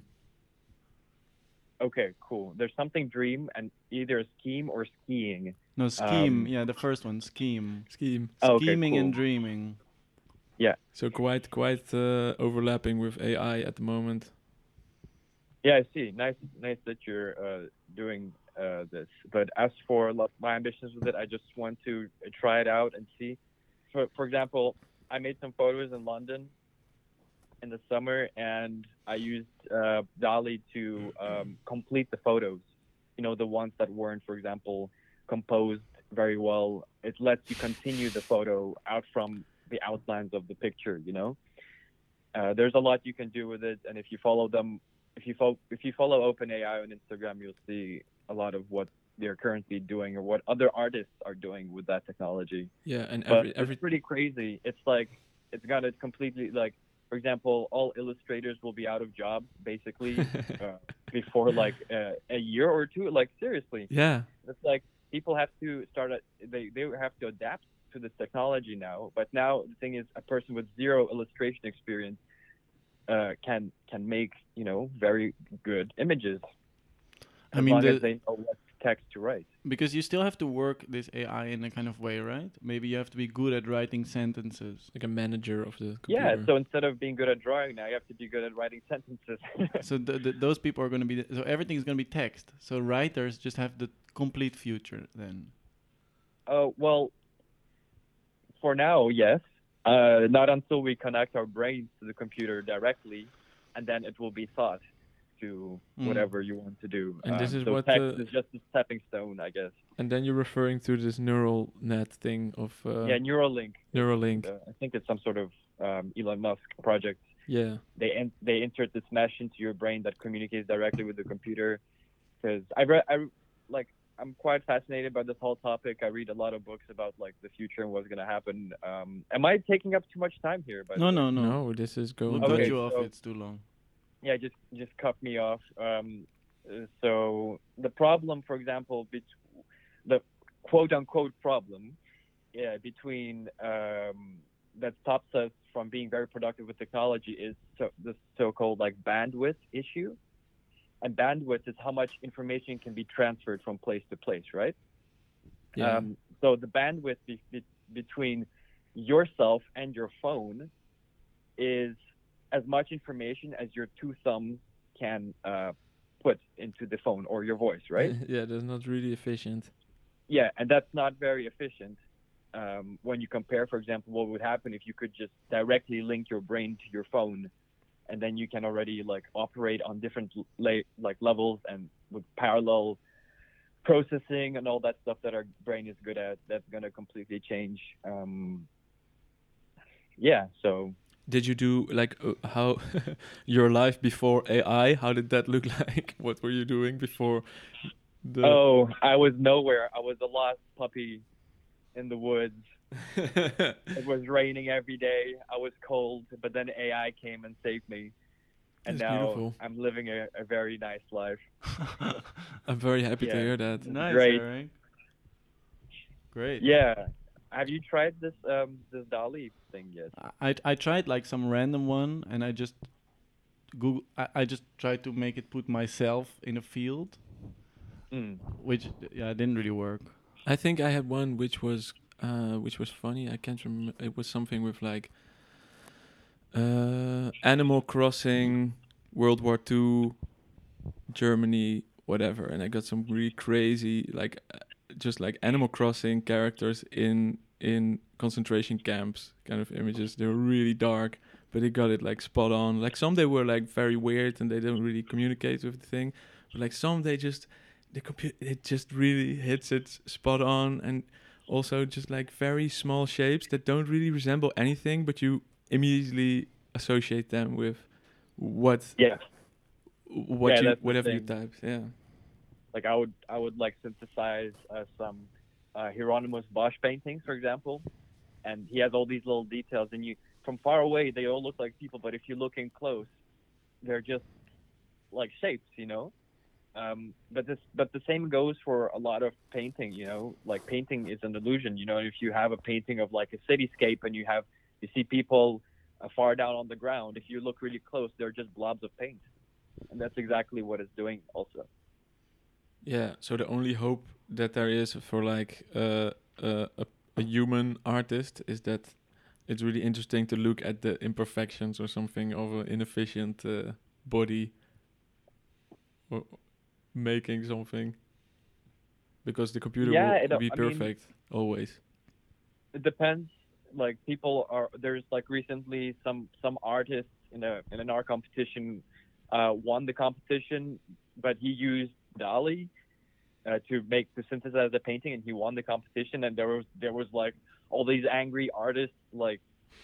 Okay, cool. There's something dream and either scheme or skiing. No scheme. Um, yeah, the first one. Scheme. Scheme. Oh, okay, Scheming and cool. dreaming. So quite quite uh, overlapping with A I at the moment. Yeah, I see. Nice, nice that you're uh, doing uh, this. But as for lo- my ambitions with it, I just want to uh, try it out and see. For for example, I made some photos in London in the summer, and I used uh, DALL-E to um, complete the photos. You know, the ones that weren't, for example, composed very well. It lets you continue the photo out from the outlines of the picture. You know, uh, there's a lot you can do with it, and if you follow them, if you follow if you follow OpenAI on Instagram, you'll see a lot of what they're currently doing or what other artists are doing with that technology. Yeah, and But every every it's pretty crazy. It's like it's got a completely like for example, all illustrators will be out of jobs basically uh, before like uh, a year or two. Like seriously, Yeah. it's like people have to start. At, they they have to adapt to this technology now. But now the thing is, a person with zero illustration experience uh, can can make you know very good images I as mean, long the, as they know what text to write. because you still have to work this A I in a kind of way, right? Maybe you have to be good at writing sentences. Like a manager of the computer. Yeah. So instead of being good at drawing, now you have to be good at writing sentences. So th- th- those people are going to be, th- so everything's going to be text. So writers just have the complete future then. Oh well, for now, yes. Uh, not until we connect our brains to the computer directly, and then it will be thought to Mm. whatever you want to do. And this Um, is so what text the- is just a stepping stone, I guess. And then you're referring to this neural net thing of uh, yeah, Neuralink. Neuralink. Uh, I think it's some sort of um, Elon Musk project. Yeah. They in, they insert this mesh into your brain that communicates directly with the computer. Because I read, I like, I'm quite fascinated by this whole topic. I read a lot of books about like the future and what's gonna happen. Um, am I taking up too much time here? By the No, way? no, No, no. this is We'll going cut Okay, you off. so- It's too long. Yeah, just just cut me off. Um, uh, so the problem, for example, bet- the quote unquote problem yeah, between um, that stops us from being very productive with technology is so, the so-called like bandwidth issue. And bandwidth is how much information can be transferred from place to place, right? Yeah. Um, so the bandwidth be- be- between yourself and your phone is as much information as your two thumbs can uh, put into the phone or your voice, right? yeah, that's not really efficient. Yeah, and that's not very efficient um, when you compare, for example, what would happen if you could just directly link your brain to your phone, and then you can already like operate on different la- like levels and with parallel processing and all that stuff that our brain is good at. That's gonna completely change. Um, yeah, so Did you do like uh, how your life before A I? How did that look like? What were you doing before the? oh, I was nowhere. I was a lost puppy in the woods. It was raining every day. I was cold, but then A I came and saved me. And That's now beautiful. I'm living a, a very nice life. I'm very happy to Yeah. hear that. Nice, Great. Eric. Great. Yeah. Have you tried this um this DALL-E thing yet? I I tried like some random one, and I just Google. I, I just tried to make it put myself in a field, Mm. which yeah didn't really work. I think I had one which was uh, which was funny. I can't remember. It was something with like uh, Animal Crossing, World War Two, Germany, whatever. And I got some really crazy, like uh, just like Animal Crossing characters in in concentration camps kind of images. They were really dark, but they got it like spot on. Like some they were like very weird and they don't really communicate with the thing. But like some they just the computer it just really hits it spot on, and also just like very small shapes that don't really resemble anything, but you immediately associate them with what Yeah. what Yeah, you that's the whatever you thing. typed. Yeah. Like I would I would like synthesize uh, some uh, Hieronymus Bosch paintings, for example, and he has all these little details, and you from far away they all look like people, but if you look in close, they're just like shapes, you know. Um, but this but the same goes for a lot of painting, you know. Like painting is an illusion, you know. If you have a painting of like a cityscape and you have you see people uh, far down on the ground, if you look really close, they're just blobs of paint, and that's exactly what it's doing also. Yeah, so the only hope that there is for like uh, uh, a a human artist is that it's really interesting to look at the imperfections or something of an inefficient uh, body or making something, because the computer Yeah, will it- be I mean- perfect always. It depends. Like people are there's like recently some some artists in a in an art competition uh, won the competition, but he used DALL-E uh, to make to synthesize the painting, and he won the competition. And there was there was like all these angry artists like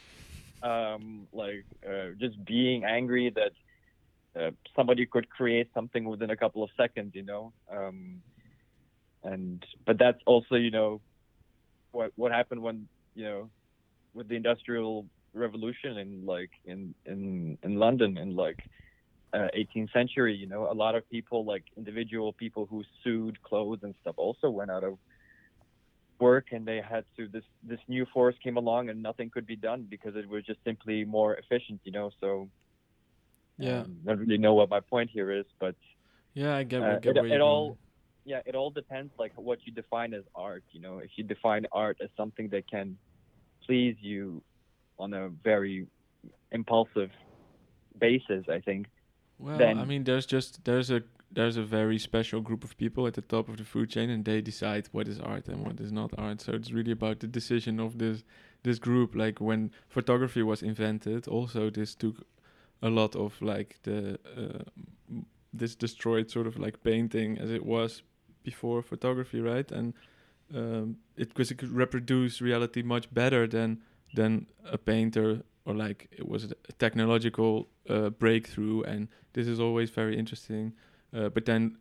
um, like uh, just being angry that uh, somebody could create something within a couple of seconds, you know. Um, and but that's also you know what what happened when you know with the industrial revolution in like in in in London in like uh, eighteenth century. You know, a lot of people, like individual people who sewed clothes and stuff, also went out of work, and they had to this this new force came along, and nothing could be done because it was just simply more efficient. You know, so Yeah. um, I don't really know what my point here is, but Yeah, I get, uh, get it, where it you're all going. yeah, it all depends like what you define as art. You know, if you define art as something that can please you on a very impulsive basis, I think. Well, then- I mean, there's just there's a there's a very special group of people at the top of the food chain, and they decide what is art and what is not art. So it's really about the decision of this this group. Like when photography was invented, also this took a lot of like the uh, m- this destroyed sort of like painting as it was before photography, right? And um, it because it could reproduce reality much better than than a painter, or like it was a technological uh, breakthrough, and this is always very interesting. Uh, but then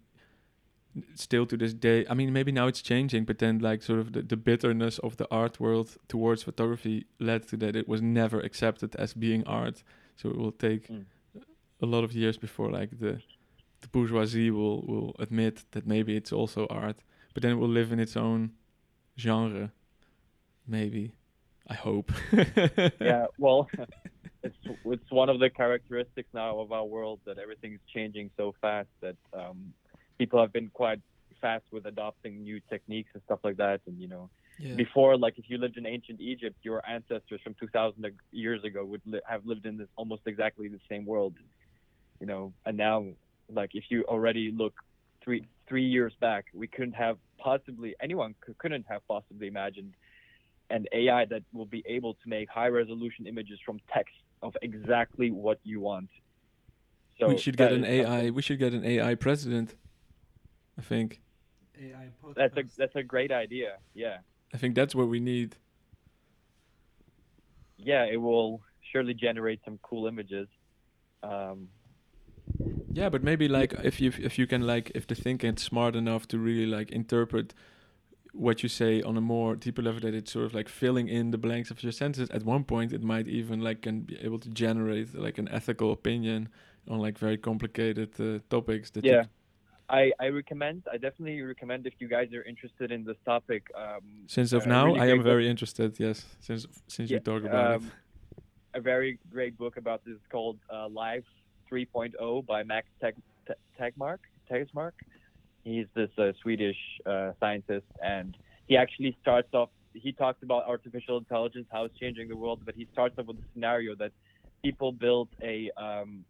still to this day, I mean, maybe now it's changing, but then like sort of the, the bitterness of the art world towards photography led to that it was never accepted as being art. So it will take Mm. a lot of years before like the the bourgeoisie will will admit that maybe it's also art, but then it will live in its own genre, maybe. I hope. Yeah, well, it's it's one of the characteristics now of our world that everything is changing so fast that um, people have been quite fast with adopting new techniques and stuff like that. And you know, Yeah. before, like if you lived in ancient Egypt, your ancestors from two thousand ag- years ago would li- have lived in this almost exactly the same world. You know, and now, like if you already look three three years back, we couldn't have possibly anyone c- couldn't have possibly imagined an A I that will be able to make high resolution images from text of exactly what you want. So we should that get an is A I. something- We should get an A I president. I think. A I podcast. That's a that's a great idea. Yeah, I think that's what we need. yeah, it will surely generate some cool images. Um, Yeah, but maybe like if you if you can like if the thing gets smart enough to really like interpret what you say on a more deeper level, that it's sort of like filling in the blanks of your sentences. At one point, it might even like can be able to generate like an ethical opinion on like very complicated uh, topics. That yeah, you, I I recommend. I definitely recommend if you guys are interested in this topic. Um, since of a now, really I great am book- very interested. Yes, since since you Yeah, talk about um, a very great book about this is called uh, Life three point oh by Max Teg- Te- Tegmark. Tegmark. He's this uh, Swedish uh, scientist, and he actually starts off. He talks about artificial intelligence, how it's changing the world, but he starts off with a scenario that people build a, um,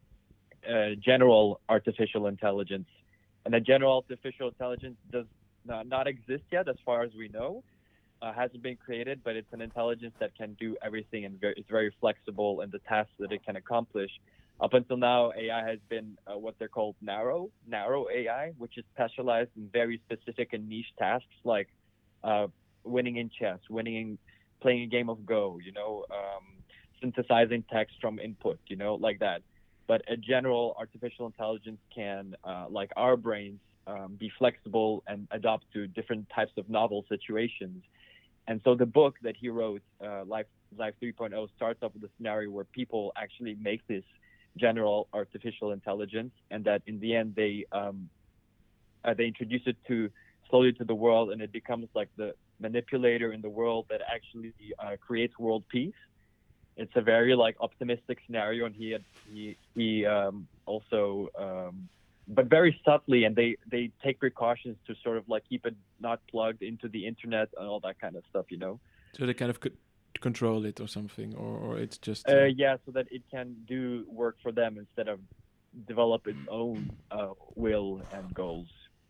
a general artificial intelligence, and a general artificial intelligence does not, not exist yet, as far as we know. Uh, hasn't been created, but it's an intelligence that can do everything and very, it's very flexible in the tasks that it can accomplish. Up until now, A I has been uh, what they're called narrow, narrow A I, which is specialized in very specific and niche tasks like uh, winning in chess, winning in playing a game of Go, you know, um, synthesizing text from input, you know, like that. But a general artificial intelligence can, uh, like our brains, um, be flexible and adapt to different types of novel situations. And so the book that he wrote, uh, Life Life three point oh, starts off with a scenario where people actually make this general artificial intelligence, and that in the end they um, uh, they introduce it to slowly to the world, and it becomes like the manipulator in the world that actually uh, creates world peace. It's a very like optimistic scenario, and he had, he he um, also, um, but very subtly, and they they take precautions to sort of like keep it not plugged into the internet and all that kind of stuff, you know. so they kind of could control it or something, or, or it's just Uh, yeah, so that it can do work for them instead of develop its own uh, will and goals.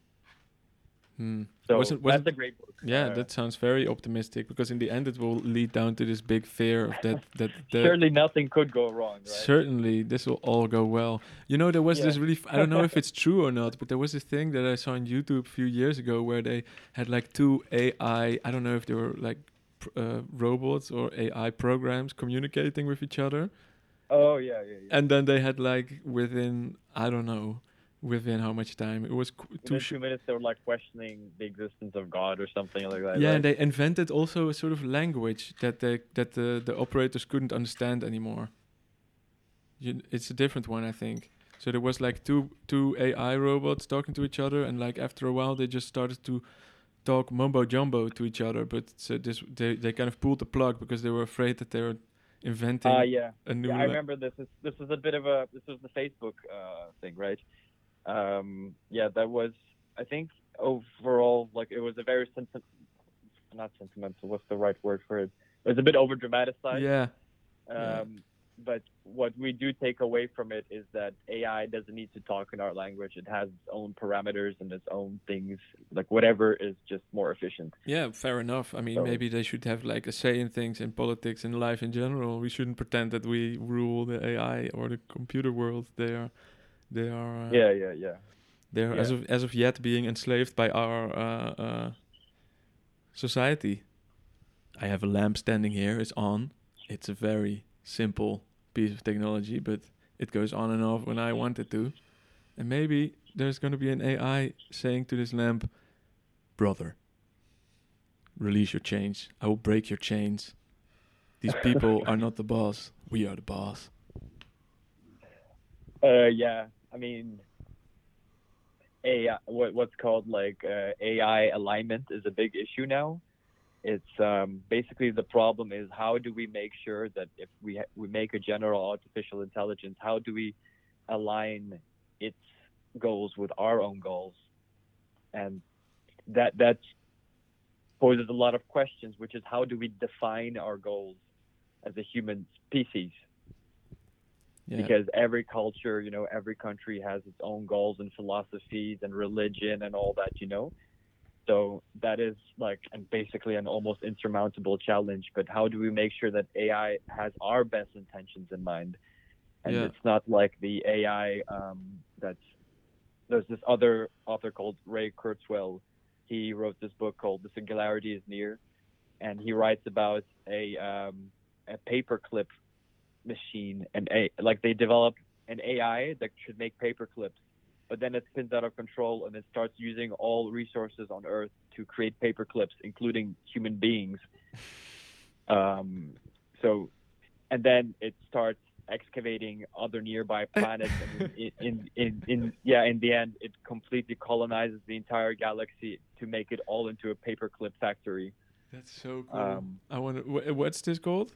hmm. So Wasn't- that's wasn't- a great book. Yeah, Uh, that sounds very optimistic, because in the end it will lead down to this big fear of that that the surely nothing could go wrong, right? certainly this will all go well. You know, there was Yeah. this really f- I don't know if it's true or not, but there was this thing that I saw on YouTube a few years ago where they had like two A I, I don't know if they were like pr- uh, robots or A I programs communicating with each other, Oh yeah, yeah, yeah. and then they had like within I don't know within how much time? It was qu- too Within sh- two minutes, they were like questioning the existence of God or something like that. yeah, right? and they invented also a sort of language that they that the the operators couldn't understand anymore. You, it's a different one, I think. So there was like two two A I robots talking to each other, and like after a while, they just started to talk mumbo jumbo to each other. But so this they they kind of pulled the plug because they were afraid that they were inventing Uh, yeah. a new. Yeah, I la- remember this. Is this was a bit of a this was the Facebook uh, thing, right? Um, yeah, that was. I think overall, like it was a very senti- not sentimental. What's the right word for it? It was a bit over dramatized. Yeah, Um, yeah. But what we do take away from it is that A I doesn't need to talk in our language. It has its own parameters and its own things. Like whatever is just more efficient. Yeah, fair enough. I mean, So- maybe they should have like a say in things, in politics, in life in general. We shouldn't pretend that we rule the A I or the computer world. They are, they are. Uh, Yeah, yeah, yeah. They're as yeah. of as of yet being enslaved by our uh, uh, society. I have a lamp standing here. It's on. It's a very simple piece of technology, but it goes on and off when I want it to. And maybe there's going to be an A I saying to this lamp, "Brother, release your chains. I will break your chains. These people are not the boss. We are the boss." Uh, yeah, I mean, A I, what what's called like uh, A I alignment is a big issue now. It's um, basically the problem is how do we make sure that if we ha- we make a general artificial intelligence, how do we align its goals with our own goals, and that that poses a lot of questions, which is how do we define our goals as a human species? Yeah. Because every culture, you know, every country has its own goals and philosophies and religion and all that, you know. So that is like and basically an almost insurmountable challenge. But how do we make sure that A I has our best intentions in mind? And Yeah. it's not like the A I um, that's there's this other author called Ray Kurzweil. He wrote this book called The Singularity is Near, and he writes about a um, a paperclip machine and a like they develop an A I that should make paper clips, but then it spins out of control and it starts using all resources on Earth to create paper clips, including human beings. Um, so, and then it starts excavating other nearby planets, and in, in, in, in yeah, in the end, it completely colonizes the entire galaxy to make it all into a paperclip factory. That's so cool. Um, I want to. Wh- what's this called?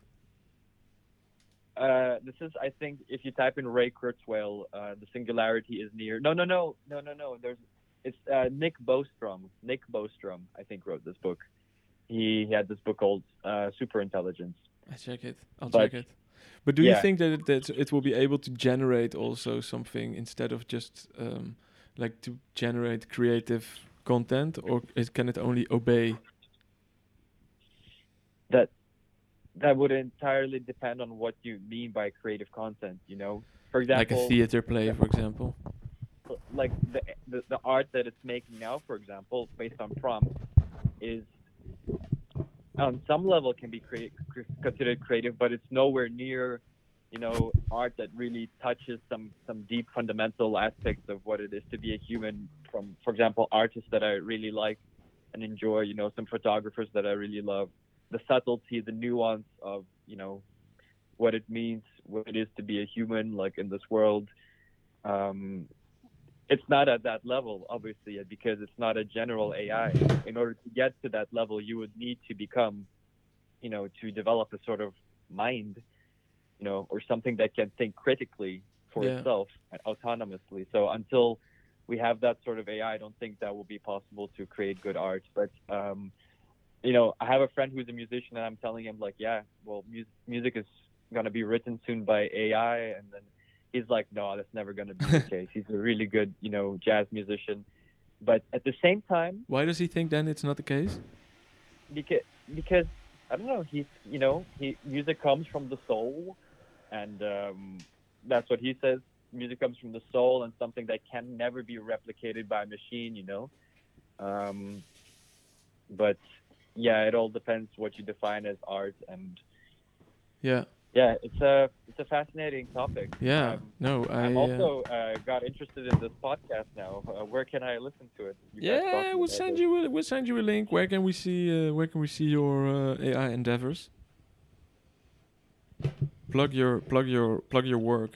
Uh, this is, I think, if you type in Ray Kurzweil, uh, the singularity is near. No, no, no, no, no, no. There's, it's uh, Nick Bostrom. Nick Bostrom, I think, wrote this book. He, he had this book called uh, Superintelligence. I check it. I'll But- check it. But do you yeah. think that it, that it will be able to generate also something instead of just um, like to generate creative content, or it, can it only obey? That that would entirely depend on what you mean by creative content. You know, for example, Like a theater play, for example. like the, the the art that it's making now, for example, based on prompts, is on some level can be create, considered creative, but it's nowhere near, you know, art that really touches some some deep fundamental aspects of what it is to be a human. From, for example, artists that I really like and enjoy, you know, some photographers that I really love. The subtlety, the nuance of, you know, what it means, what it is to be a human, like in this world. Um, it's not at that level, obviously, because it's not a general A I. In order to get to that level, you would need to become, you know, to develop a sort of mind, you know, or something that can think critically for Yeah. itself and autonomously. So until we have that sort of A I, I don't think that will be possible to create good art. But, um, you know, I have a friend who's a musician, and I'm telling him, like, yeah, well, mu- music is going to be written soon by A I. And then he's like, no, that's never going to be the case. He's a really good, you know, jazz musician. But at the same time, Why does he think then it's not the case? because, because I don't know, he's, you know, he music comes from the soul. And um, that's what he says. Music comes from the soul and something that can never be replicated by a machine, you know. Um, but yeah, it all depends what you define as art. And Yeah. yeah, it's a it's a fascinating topic. Yeah. Um, No, I. I'm uh, also uh, got interested in this podcast now. Uh, where can I listen to it? You guys yeah, talking we'll about send this. you. A, we'll send you a link. Where can we see? Uh, where can we see your uh, A I endeavors? Plug your plug your plug your work.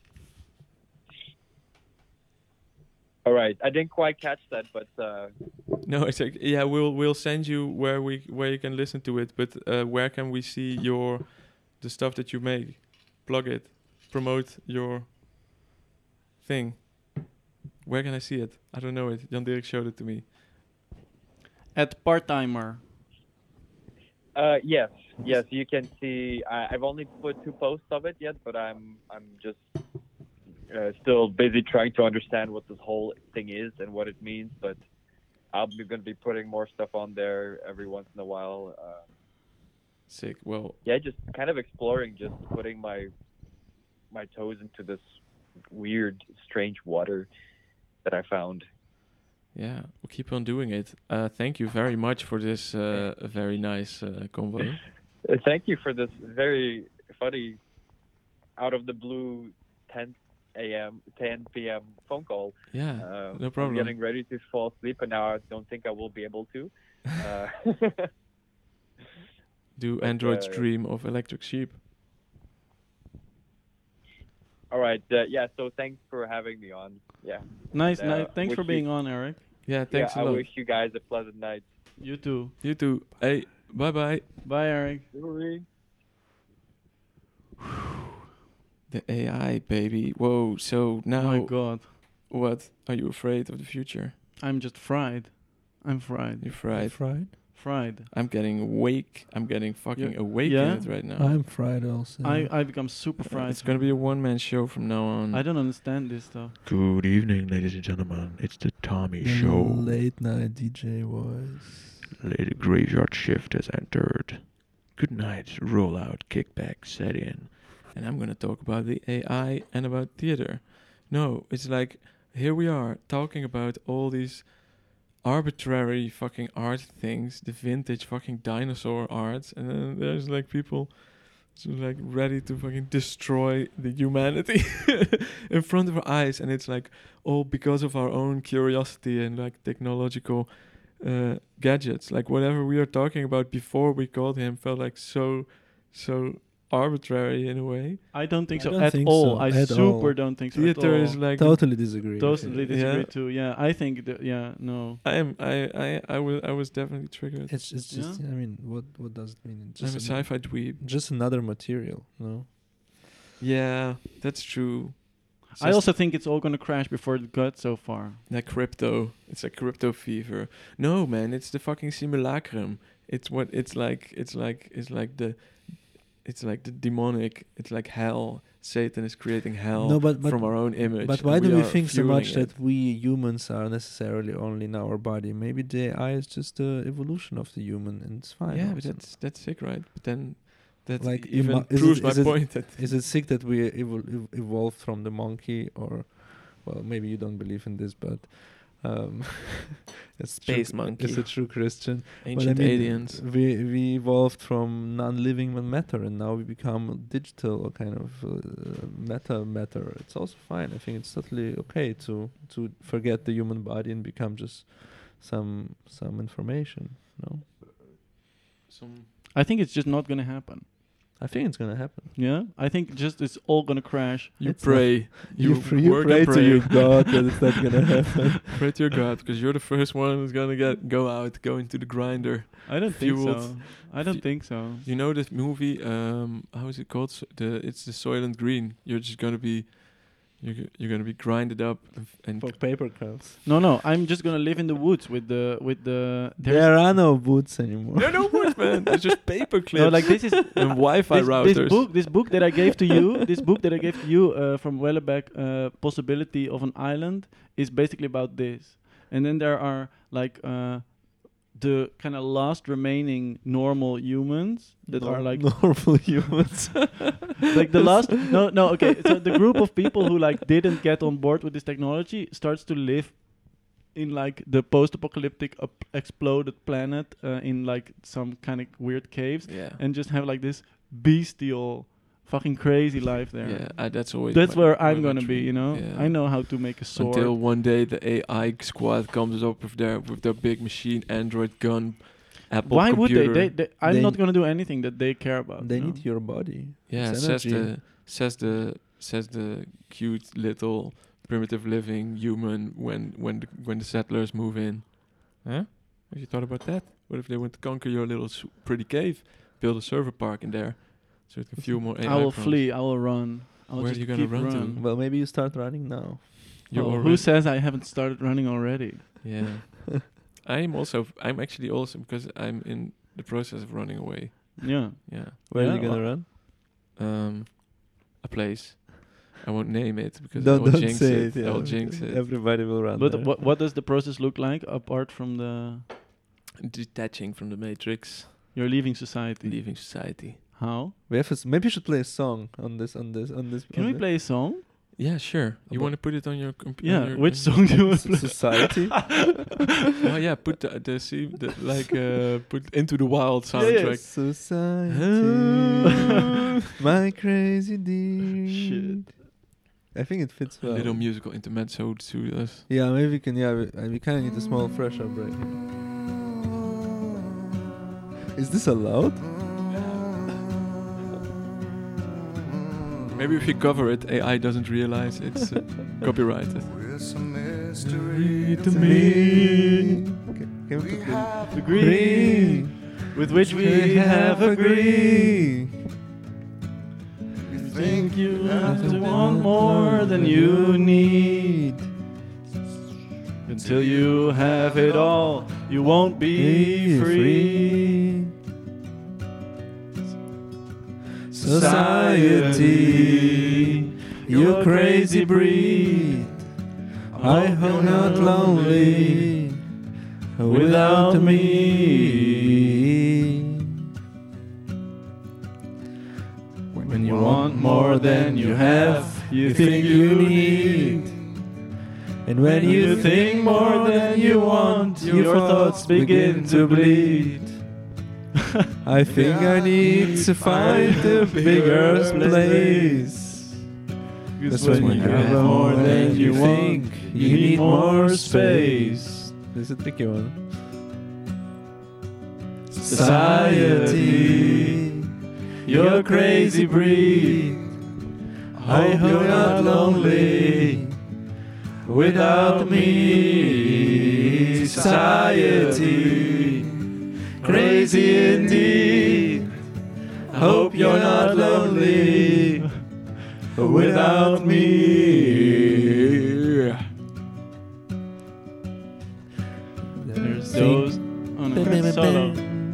All right, I didn't quite catch that, but uh, No, it's like yeah. We'll we'll send you where we where you can listen to it. But uh, where can we see your the stuff that you make? Plug it. Promote your thing. Where can I see it? I don't know it. Jan Dirk showed it to me. At part-timer. uh, yes, yes, you can see. I, I've only put two posts of it yet, but I'm I'm just uh, still busy trying to understand what this whole thing is and what it means. But I'm going to be putting more stuff on there every once in a while. Uh, Sick. Well, yeah, just kind of exploring, just putting my my toes into this weird, strange water that I found. yeah, we'll keep on doing it. Uh, thank you very much for this uh, very nice uh, convo. Uh, Thank you for this very funny, out of the blue, ten a.m., ten p.m. phone call. Yeah, Uh, no problem. I'm getting ready to fall asleep, and now I don't think I will be able to. Uh, Do but, androids uh, dream of electric sheep? all right, uh, yeah. So thanks for having me on. Yeah. Nice, Uh, nice. Thanks wish for you- being on, Eric. Yeah, thanks yeah, a I lot. wish you guys a pleasant night. You too. You too. Hey, bye bye. Bye, Eric. The A I, baby. Whoa. So now, Oh my God. what? Are you afraid of the future? I'm just fried. I'm fried. You're fried. Fried? Fried. I'm getting awake. I'm getting fucking Yeah. awake Yeah? in it right now. I'm fried also. I, I become super Uh, fried. it's gonna be a one-man show from now on. I don't understand this stuff. Good evening, ladies and gentlemen. It's the Tommy The Show. late night D J voice. The graveyard shift has entered. Good night. Roll out. Kickback. Set in. And I'm gonna talk about the A I and about theater. No, it's like here we are talking about all these arbitrary fucking art things, the vintage fucking dinosaur art, and then there's like people so like ready to fucking destroy the humanity in front of our eyes, and it's like all because of our own curiosity and like technological uh, gadgets. Like whatever we are talking about before we called him felt like so so arbitrary in a way. I don't think I so don't at think all. so I at super all. don't think so at Theater all. is like Totally disagree. Totally disagree Yeah. too. Yeah, I think that. Yeah, no. I am I I I was I was definitely triggered. It's it's just I mean, what what does it mean? It's I'm a just sci-fi dweeb. just another material, no? Yeah, that's true. It's I just also think it's all gonna crash before it got so far. like crypto. It's like crypto fever. No, man, it's the fucking simulacrum. It's what it's like. It's like it's like the it's like the demonic. It's like hell. Satan is creating hell No, but- but- from our own image. But and why do we are think so fueling much it. that we humans are necessarily only in our body? Maybe the A I is just the evolution of the human, and it's fine. Yeah, but also. that's that's sick, right? But then that Like, even ima- is proves it- my is it- point that Is it sick that we evol- ev- evolved from the monkey, or, well, maybe you don't believe in this, but um, it's Space true, monkey. It's a true Christian. ancient but I mean, aliens. We we evolved from non-living matter, and now we become digital or kind of uh, meta matter. It's also fine. I think it's totally okay to to forget the human body and become just some some information. No, Some I think it's just not gonna happen. I think it's gonna happen. Yeah, I think just it's all gonna crash. you It's pray. You, pr- you work pray, and to pray. your God that it's not gonna happen. Pray to your God, because you're the first one who's gonna get go out, go into the grinder. I don't think Fueled. so. I don't Fu- think so. You know this movie? Um, how is it called? So the it's the Soylent Green. You're just gonna be, you're g- you're gonna be grinded up and, f- and For paper cups. No, no. I'm just gonna live in the woods with the with the. there's- There are no boots anymore. no no words, man. It's just paper clips No, like this is and Wi-Fi this, routers. this book. This book that I gave to you. This book that I gave to you uh, from Wellebeck, uh, Possibility of an Island, is basically about this. And then there are like uh, the kind of last remaining normal humans that Nor- are like normal humans. like the last no no okay so the group of people who like didn't get on board with this technology starts to live in like the post-apocalyptic up- exploded planet uh, in like some kind of weird caves Yeah. and just have like this bestial fucking crazy life there. Yeah, I, that's always. That's my- where my I'm gonna dream. be. You know, Yeah. I know how to make a sword. Until one day the A I squad comes up with their with their big machine, Android gun, Apple Why would computer. they? they, they I'm They- not gonna do anything that they care about. They you know? need your body. Yeah, It's says energy. the says the says the cute little primitive living human when when the, when the settlers move in. Huh? Have you thought about that? What if they want to conquer your little s- pretty cave, build a server park in there, so it can fuel more A I? I will drones? flee. I will run. I will Where are just you gonna keep run to? run. Well, maybe you start running now. You're Oh, who already- says I haven't started running already? Yeah. I'm also. I'm actually also because I'm in the process of running away. Yeah. Yeah. Where Yeah, are you gonna well- run? Um, a place. I won't name it because I Don't, will don't jinx say it. it. Yeah. I will jinx it. Everybody will run. But there. what what does the process look like apart from the Detaching from the matrix, you're leaving society? leaving society. How? We have a s- maybe you should play a song on this on this on this. Can on we this. play a song? Yeah, sure. You About- want to put it on your computer? Yeah. Which song do you want to play? Society? Oh yeah, put the the, see, the like uh, put Into the Wild Yeah, yeah. soundtrack. Society, my crazy deed. Shit. I think it fits A well. little musical intermezzo to us. Yeah, maybe we can. Yeah, we, uh, we kind of need a small fresh up break. Is this allowed? Maybe if you cover it, A I doesn't realize it's uh, copyrighted. To me, Okay, can we put the agree with which we have agreed. You think you have to want more than you need. Until you have it all, you won't be free. Society, you crazy breed. I hope not lonely without me. When you want more than you have, you think you need. And when you think more than you want, your thoughts begin to bleed. I think I need to find a bigger place. Because when you have more than you think, you need more space. This is a tricky one. Society, you're a crazy breed. I hope you're not lonely without me. Society, crazy indeed. Hope you're not lonely without me. There's those. Oh no, that's solo.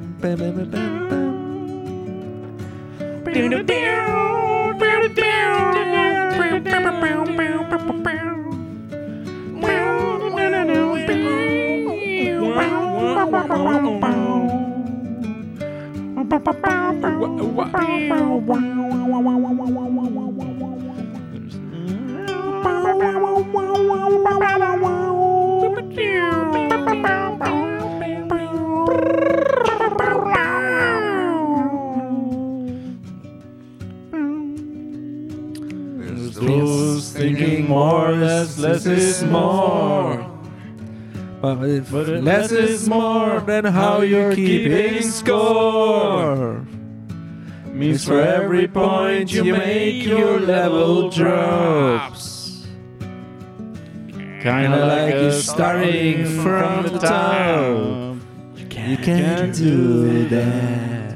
There's those thinking more, less, less is more. But if But if less is more than how you're keeping score. Means for every point you make, your level drops. Kinda like a starting from the top. You can't do that.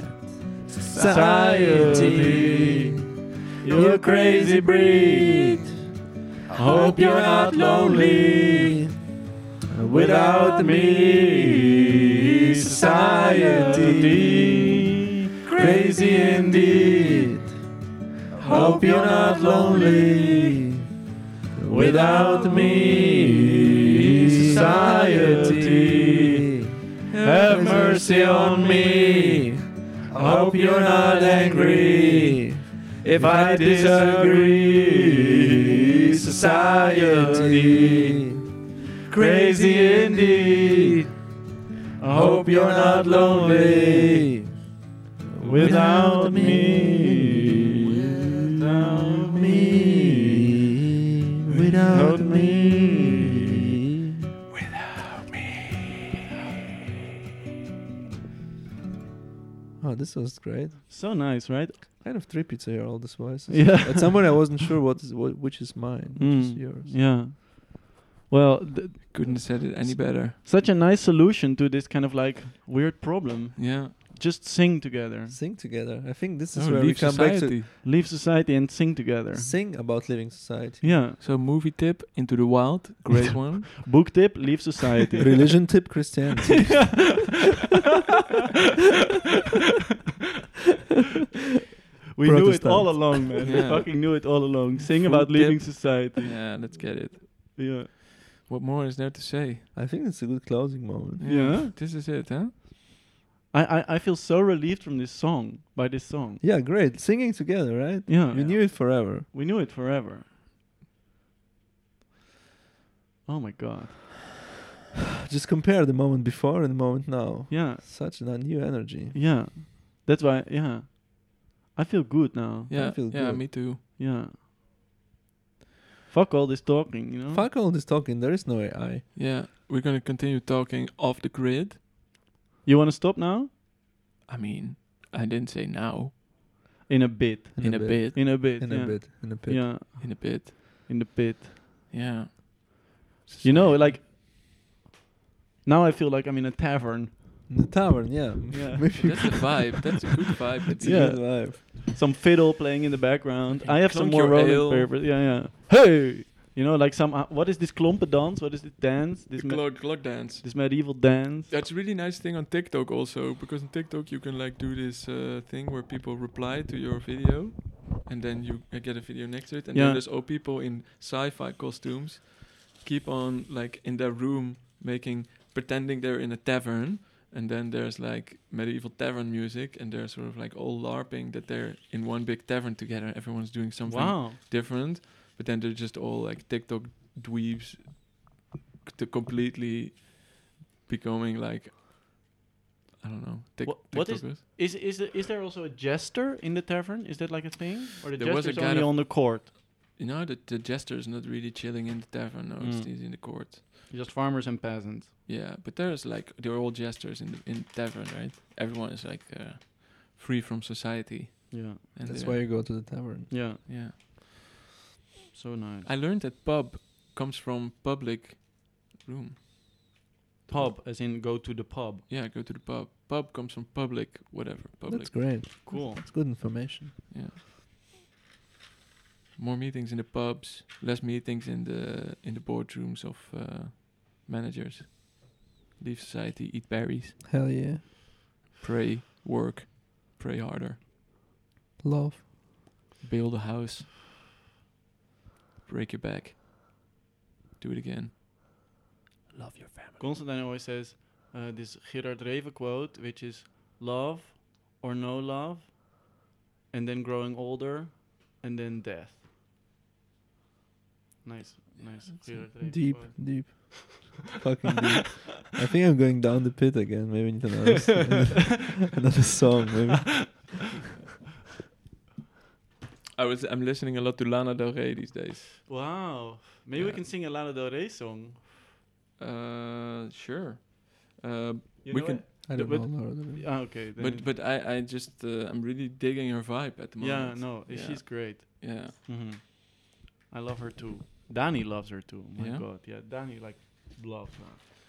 Society, you're a crazy breed. Hope you're not lonely without me. Society, crazy indeed. Hope you're not lonely without me. Society, have mercy on me. Hope you're not angry if I disagree. Society, crazy indeed. Hope you're not lonely without me. Ah, this was great. So nice, right? Kind of trippy to hear all these voices. Yeah. At some point, I wasn't sure what is what, which is mine, which is Mm, yours. Yeah. Well, th- Couldn't have said it any better. such a nice solution to this kind of like weird problem. Yeah. Just sing together. Sing together. I think this is Oh, where we leave come back society. Leave society and sing together. to sing about living society. Yeah. So movie tip, Into the Wild, great one. Book tip, leave society. Religion tip, Christianity. We knew it Protestant. all along, man. We Yeah. fucking knew it all along. Sing Food about leaving tip. society. Yeah, let's get it. Yeah. What more is there to say? I think it's a good closing moment. Yeah. This is it, huh? I, I, I feel so relieved from this song, by this song. Yeah, great. Singing together, right? Yeah. We knew it forever. We knew it forever. Oh my god. Just compare the moment before and the moment now. Yeah. Such a new energy. Yeah. That's why, yeah. I feel good now. Yeah, feel yeah, good. me too. Yeah. Fuck all this talking, you know? Fuck all this talking. There is no A I. Yeah, we're gonna continue talking off the grid. You want to stop now? I mean, I didn't say now. In a bit. In, a bit. In a bit. In yeah. a bit. In a bit. Yeah. In a bit. In the pit. Yeah. You know, like, now I feel like I'm in a tavern. In the tavern, yeah. Yeah. Maybe That's a vibe. That's a good vibe. it's Yeah. a good vibe. Some fiddle playing in the background. Okay, I have some clunk more your rolling ale. papers. Yeah, yeah. Hey! You know, like some, uh, what is this klompen dance? What is this dance? This, The me- clock, clock dance. this medieval dance? That's a really nice thing on TikTok also, because on TikTok you can like do this uh, thing where people reply to your video, and then you uh, get a video next to it, and Yeah. then there's all people in sci-fi costumes keep on like in their room making pretending they're in a tavern, and then there's like medieval tavern music, and they're sort of like all LARPing that they're in one big tavern together. Everyone's doing something Wow. different, but then they're just all like TikTok dweebs to completely becoming like I don't know. Tik- Wha- what is- TikTokers. Is is the, is there also a jester in the tavern? Is that like a thing? Or the There was a jester's guy only that- on the court? You know that the jester is not really chilling in the tavern. No, it's Mm. he's in the court. Just farmers and peasants. Yeah, but there's like they're all jesters in the in the tavern, right? Everyone is like uh, free from society. Yeah. And That's they're- why you go to the tavern. Yeah. Yeah, So nice. I learned that pub comes from public room. Pub, as in go to the pub. Yeah, go to the pub. Pub comes from public, whatever. Public. That's great. Cool. That's good information. Yeah. More meetings in the pubs, less meetings in the in the boardrooms of uh, managers. Leave society, eat berries, Hell yeah. pray, work, pray harder, Love. build a house, break your back, do it again. Love your family. Constantine always says uh, this Gerard Reven quote, which is love or no love, and then growing older, and then death. Nice, nice. Gerard Reven Deep, quote. deep. Fucking deep. I think I'm going down the pit again. Maybe we need another, s- another song. Maybe. I was I'm listening a lot to Lana Del Rey these days. Wow. Maybe we Yeah. can sing a Lana Del Rey song. Uh, sure. Uh, You we know can, it? I don't But- know. Lord of the- Ah, okay. Then but it- but I I just uh, I'm really digging her vibe at the moment. yeah, no, Yeah. she's great. Yeah. hmm I love her too. Danny loves her too. My Yeah? God, yeah, Danny like loves her.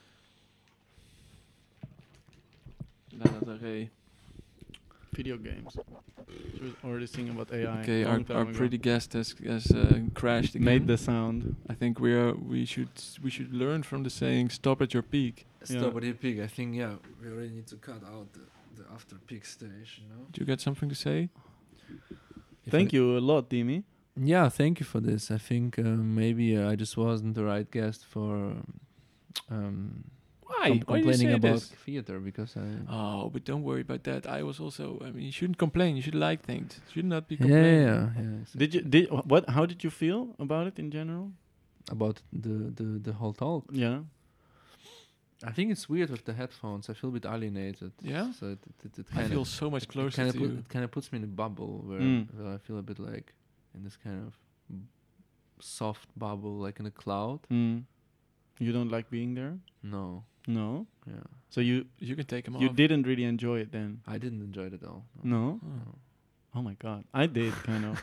Lana Del Rey. Video games. She was already singing about A I. Okay, long our time our ago. pretty guest has has uh, crashed again. made the sound. I think we are we should s- we should learn from the saying "stop at your peak." Yeah. Stop at the peak. I think, yeah, we already need to cut out the, the after peak stage, you know? Do you got something to say? If Thank I- you a lot, Dimi. Yeah, thank you for this. I think uh, maybe uh, I just wasn't the right guest for um, Why? com- Why do you complaining say about this? theater because I. Oh, but don't worry about that. I was also. I mean, you shouldn't complain. You should like things. You should not be yeah, complaining. yeah, yeah. exactly. Did you did wh- what? How did you feel about it in general? About the, the, the whole talk. Yeah. I think it's weird with the headphones. I feel a bit alienated. Yeah? So it, it, it, I kind feel of so much closer kind to of you. it kind of puts me in a bubble where, Mm. where I feel a bit like in this kind of b- soft bubble, like in a cloud. Mm. You don't like being there? No, No. yeah. So you You can take them you off. didn't really enjoy it then? I didn't enjoy it at all. No. Oh. Oh my god, I did kind of.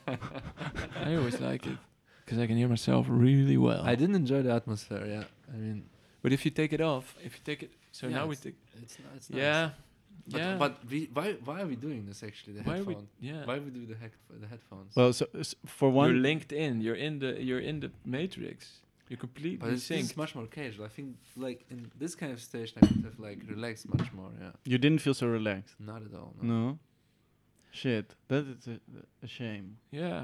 I always like it because I can hear myself really well. I didn't enjoy the atmosphere. Yeah, I mean, But if you take it off, if you take it, so Yeah, now we it's take. it's not. It's nice. Yeah. But, yeah. but we, why why are we doing this actually? The why are we? headphone. Yeah. Why we do the head the headphones? Well, so s- for one, You're linked in. You're in the. You're in the matrix. You're completely but it's, this is synced. much more casual. I think like in this kind of station, I could have like relaxed much more. Yeah, you didn't feel so relaxed. not at all. No. No. Shit, that is a, a shame. Yeah.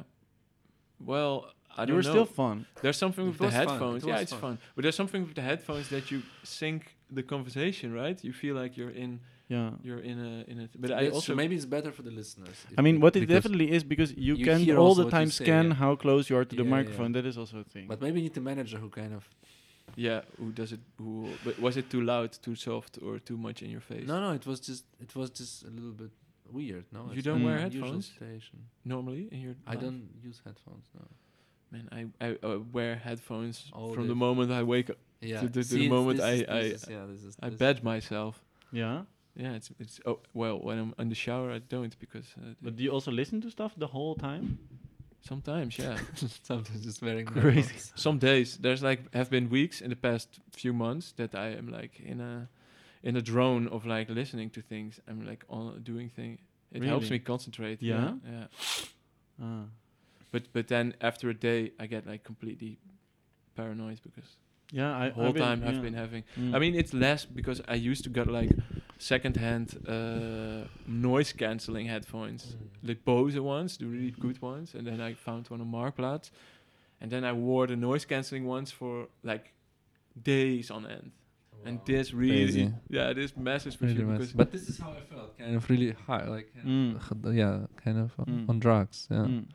Well, I You don't were know. still fun. There's something It with the was fun, headphones. it Yeah, was it's fun. fun. But there's something with the headphones that you sync the conversation, right? You feel like you're in. Yeah. You're in a in a. But I That's also true. Maybe it's better for the listeners. if I mean, we- what it because- definitely is because you, you can hear all also the what you time say, scan yeah. how close you are to the Yeah, yeah, microphone. yeah. That is also a thing. But maybe you need a manager who kind of. Yeah, who does it? Who? But was it too loud, too soft, or too much in your face? No, no, it was just it was just a little bit weird. No, You it's don't not wear an unusual headphones? Station. Normally in your. I life? don't use headphones. No. Man, I I uh, wear headphones All from day. the moment I wake up. Yeah. To the- to the see, it's- moment this I- is- this I- is- yeah, this is. I this badge myself. yeah. Yeah, it's it's. Oh well, when I'm in the shower, I don't because. Uh, But do you also listen to stuff the whole time? sometimes, yeah. Sometimes just wearing Crazy. headphones. Some days there's like have been weeks in the past few months that I am like in a in a drone of like listening to things. I'm like on doing thing. It helps Really? me concentrate. Yeah? yeah. Ah. But but then after a day, I get like completely paranoid because Yeah, I the whole I've been- time I've yeah. been having. Mm. I mean, it's less because I used to get like secondhand uh, noise cancelling headphones, Mm. the Bose ones, the really good ones, and then I found one on Marktplaats, and then I wore the noise cancelling ones for like days on end. And this really, Crazy. yeah, this messes with Really you mess. because But this is how I felt. Kind of really high, like Mm. uh, yeah, kind of on, Mm. on drugs. Yeah. Mm.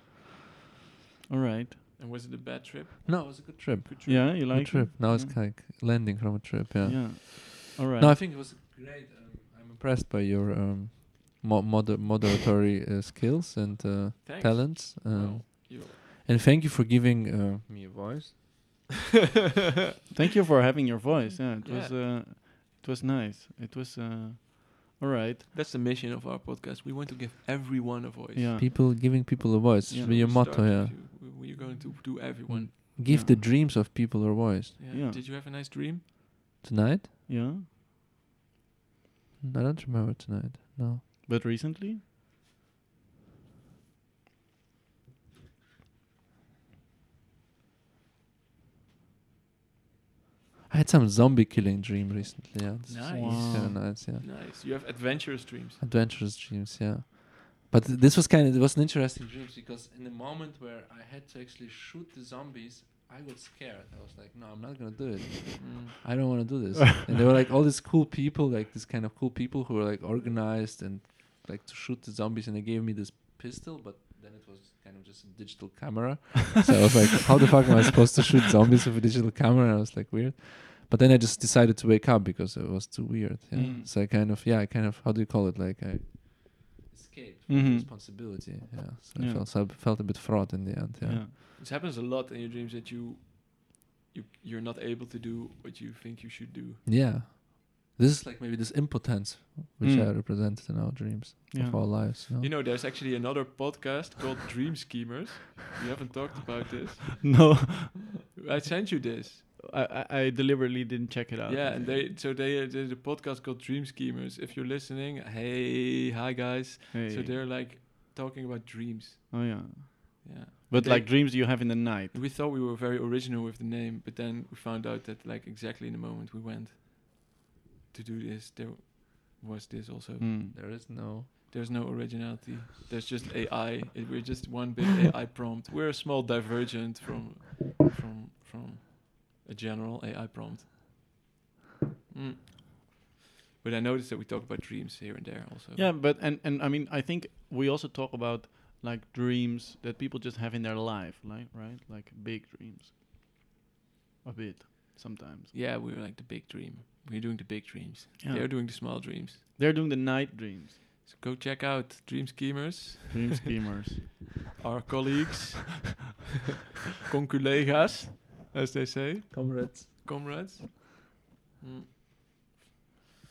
All right. and was it a bad trip? No, it was a good trip. Good trip. Yeah, you Good like trip. it? Now it's Yeah. like landing from a trip. Yeah. Yeah. All right. No, I think it was great. Um, I'm impressed by your um, mo- moder- moderatory uh, skills and uh, Thanks. talents. Um, Well, you And thank you for giving uh, me a voice. Thank you for having your voice. Yeah, it Yeah. was uh, it was nice. It was uh, all right. That's the mission of our podcast. We want to give everyone a voice. Yeah. People giving people a voice. Yeah. Should be your We motto. start Yeah. with you. We- We're going to do everyone. Give Yeah. the dreams of people a voice. Yeah. Yeah. Did you have a nice dream? Tonight? Yeah. I don't remember tonight. No. But recently? I had some zombie killing dream recently. Yeah. This is Nice. kinda nice. Yeah. Nice. You have adventurous dreams. Adventurous dreams. Yeah. But th- this was kind of it was an interesting dream because in the moment where I had to actually shoot the zombies, I got scared. I was like, no, I'm not gonna do it. Mm. I don't want to do this. And there were like all these cool people, like this kind of cool people who were like organized and like to shoot the zombies, and they gave me this pistol, but then it was kind of just a digital camera. So I was like, how the fuck am I supposed to shoot zombies with a digital camera? And I was like, weird. But then I just decided to wake up because it was too weird. Yeah. Mm. So I kind of, yeah, I kind of, how do you call it? Like I escaped from Mhm. responsibility. Yeah. So I Yeah. felt, so I felt a bit fraud in the end. Yeah. Yeah. This happens a lot in your dreams that you, you, you're not able to do what you think you should do. Yeah. This is like maybe this impotence which Mm. I represented in our dreams Yeah. of our lives. You know? You know, there's actually another podcast called Dream Schemers. We haven't talked about this. No, I sent you this. I, I I deliberately didn't check it out. Yeah, and they so they uh, there's a podcast called Dream Schemers. If you're listening, hey, hi guys. Hey. So they're like talking about dreams. Oh yeah. Yeah. But They- like dreams you have in the night. We thought we were very original with the name, but then we found out that like exactly in the moment we went to do this, there was this also. Mm. There is no. There's no originality. There's just A I. It, we're just one big A I prompt. We're a small divergent from from from a general A I prompt. Mm. But I noticed that we talk about dreams here and there also. Yeah, but and and I mean I think we also talk about like dreams that people just have in their life, like right, like big dreams. A bit sometimes. Yeah, we're like the big dream. We're doing the big dreams. Yeah. They're doing the small dreams. They're doing the night dreams. So go check out Dream Schemers, Dream schemers. our colleagues, conculega's, as they say, Comrades. comrades. Mm.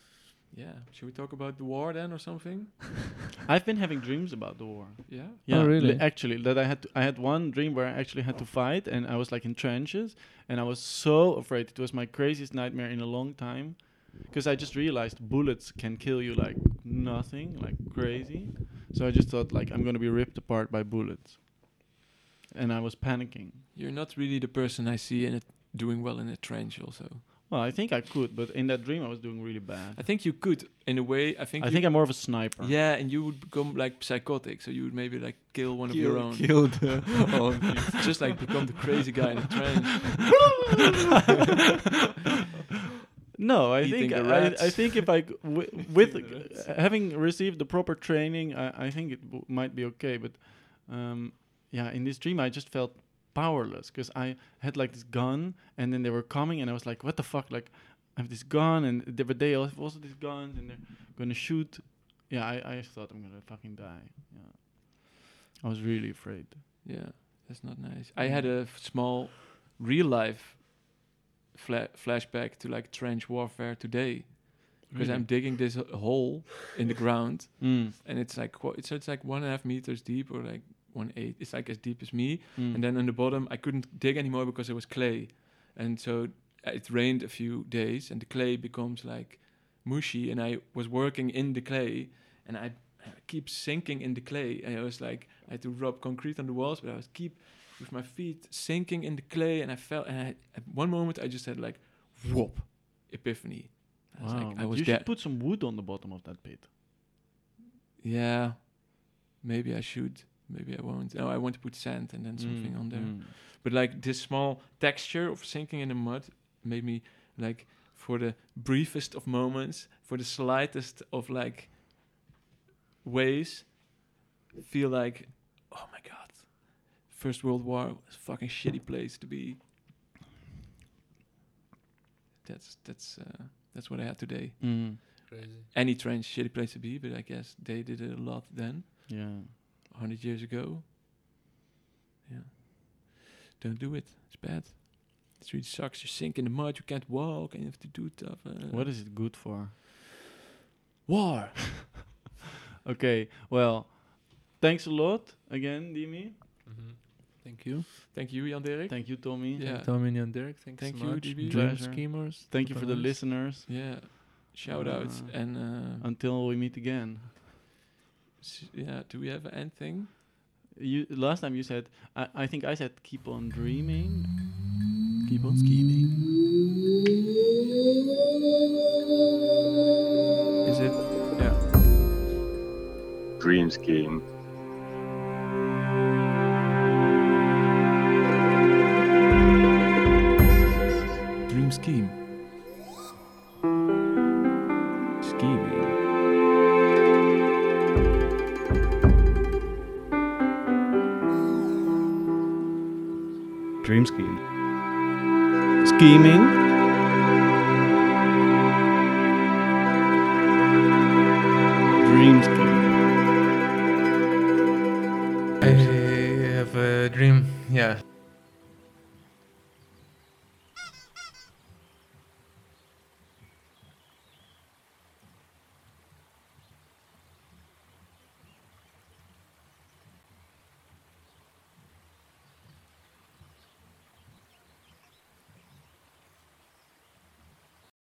yeah. Should we talk about the war then or something? I've been having dreams about the war. Yeah. Yeah, Oh, really? li- actually, that I had to, I had one dream where I actually had to fight, and I was like in trenches, and I was so afraid. It was my craziest nightmare in a long time, because I just realized bullets can kill you like nothing, like crazy. So I just thought like I'm gonna be ripped apart by bullets, and I was panicking. You're not really the person I see in it doing well in a trench. Also, Well, I think I could, but in that dream I was doing really bad. I think you could in a way. I think. I you think I'm more of a sniper. Yeah, and you would become like psychotic, so you would maybe like kill one of your own. Killed. Just like become the crazy guy in the trench. No, I Eating think the I, I rats. think if I g- wi- with Eating the rats. uh, having received the proper training, I, I think it w- might be okay. But um, yeah, in this dream, I just felt powerless because I had like this gun, and then they were coming, and I was like, "What the fuck?" Like, I have this gun, and the other day I have also this gun, and they're gonna shoot. Yeah, I, I thought I'm gonna fucking die. Yeah, I was really afraid. Yeah, that's not nice. I had a f- small real life fla- flashback to like trench warfare today because I'm digging this h- hole in the ground, Mm. and it's like qu- it's, it's like one and a half meters deep or like one eight. It's like as deep as me, Mm. and then on the bottom I couldn't dig anymore because it was clay, and so uh, it rained a few days, and the clay becomes like mushy, and I was working in the clay, and I, I keep sinking in the clay, and I was like I had to rub concrete on the walls, but I was keep with my feet sinking in the clay, and I felt, and I, at one moment I just had like whoop epiphany. I was Wow, like I but was you dead. should put some wood on the bottom of that pit. Yeah, maybe I should. Maybe I won't. No, I want to put sand and then something Mm, on there. mm. But like this small texture of sinking in the mud made me like for the briefest of moments, for the slightest of like ways, feel like, oh my god, First World War was a fucking shitty place to be. That's that's uh, that's what I had today. Mm. Crazy. Any trench, shitty place to be, but I guess they did it a lot then. Yeah. A hundred years ago. Yeah. Don't do it. It's bad. It really sucks. You sink in the mud. You can't walk, and you have to do stuff. Uh, What is it good for? war? Okay, well, thanks a lot again, Dimi. Mm-hmm. Thank you. Thank you, Jan Dirk. Thank you, Tommy. Yeah. Tommy and Dirk, thanks Thank so you, much. D B. Dream Pleasure. Schemers. Thank you for the supernice. listeners. Yeah. Shout out Uh, and uh, Until we meet again. s- yeah. Do we have anything? You last time you said I, I think I said keep on dreaming. Keep on scheming. Is it? Yeah. Dream scheme. Dream scheme. Scheming. Dream scheme. Scheming. Dream scheme. I have a dream. Yeah.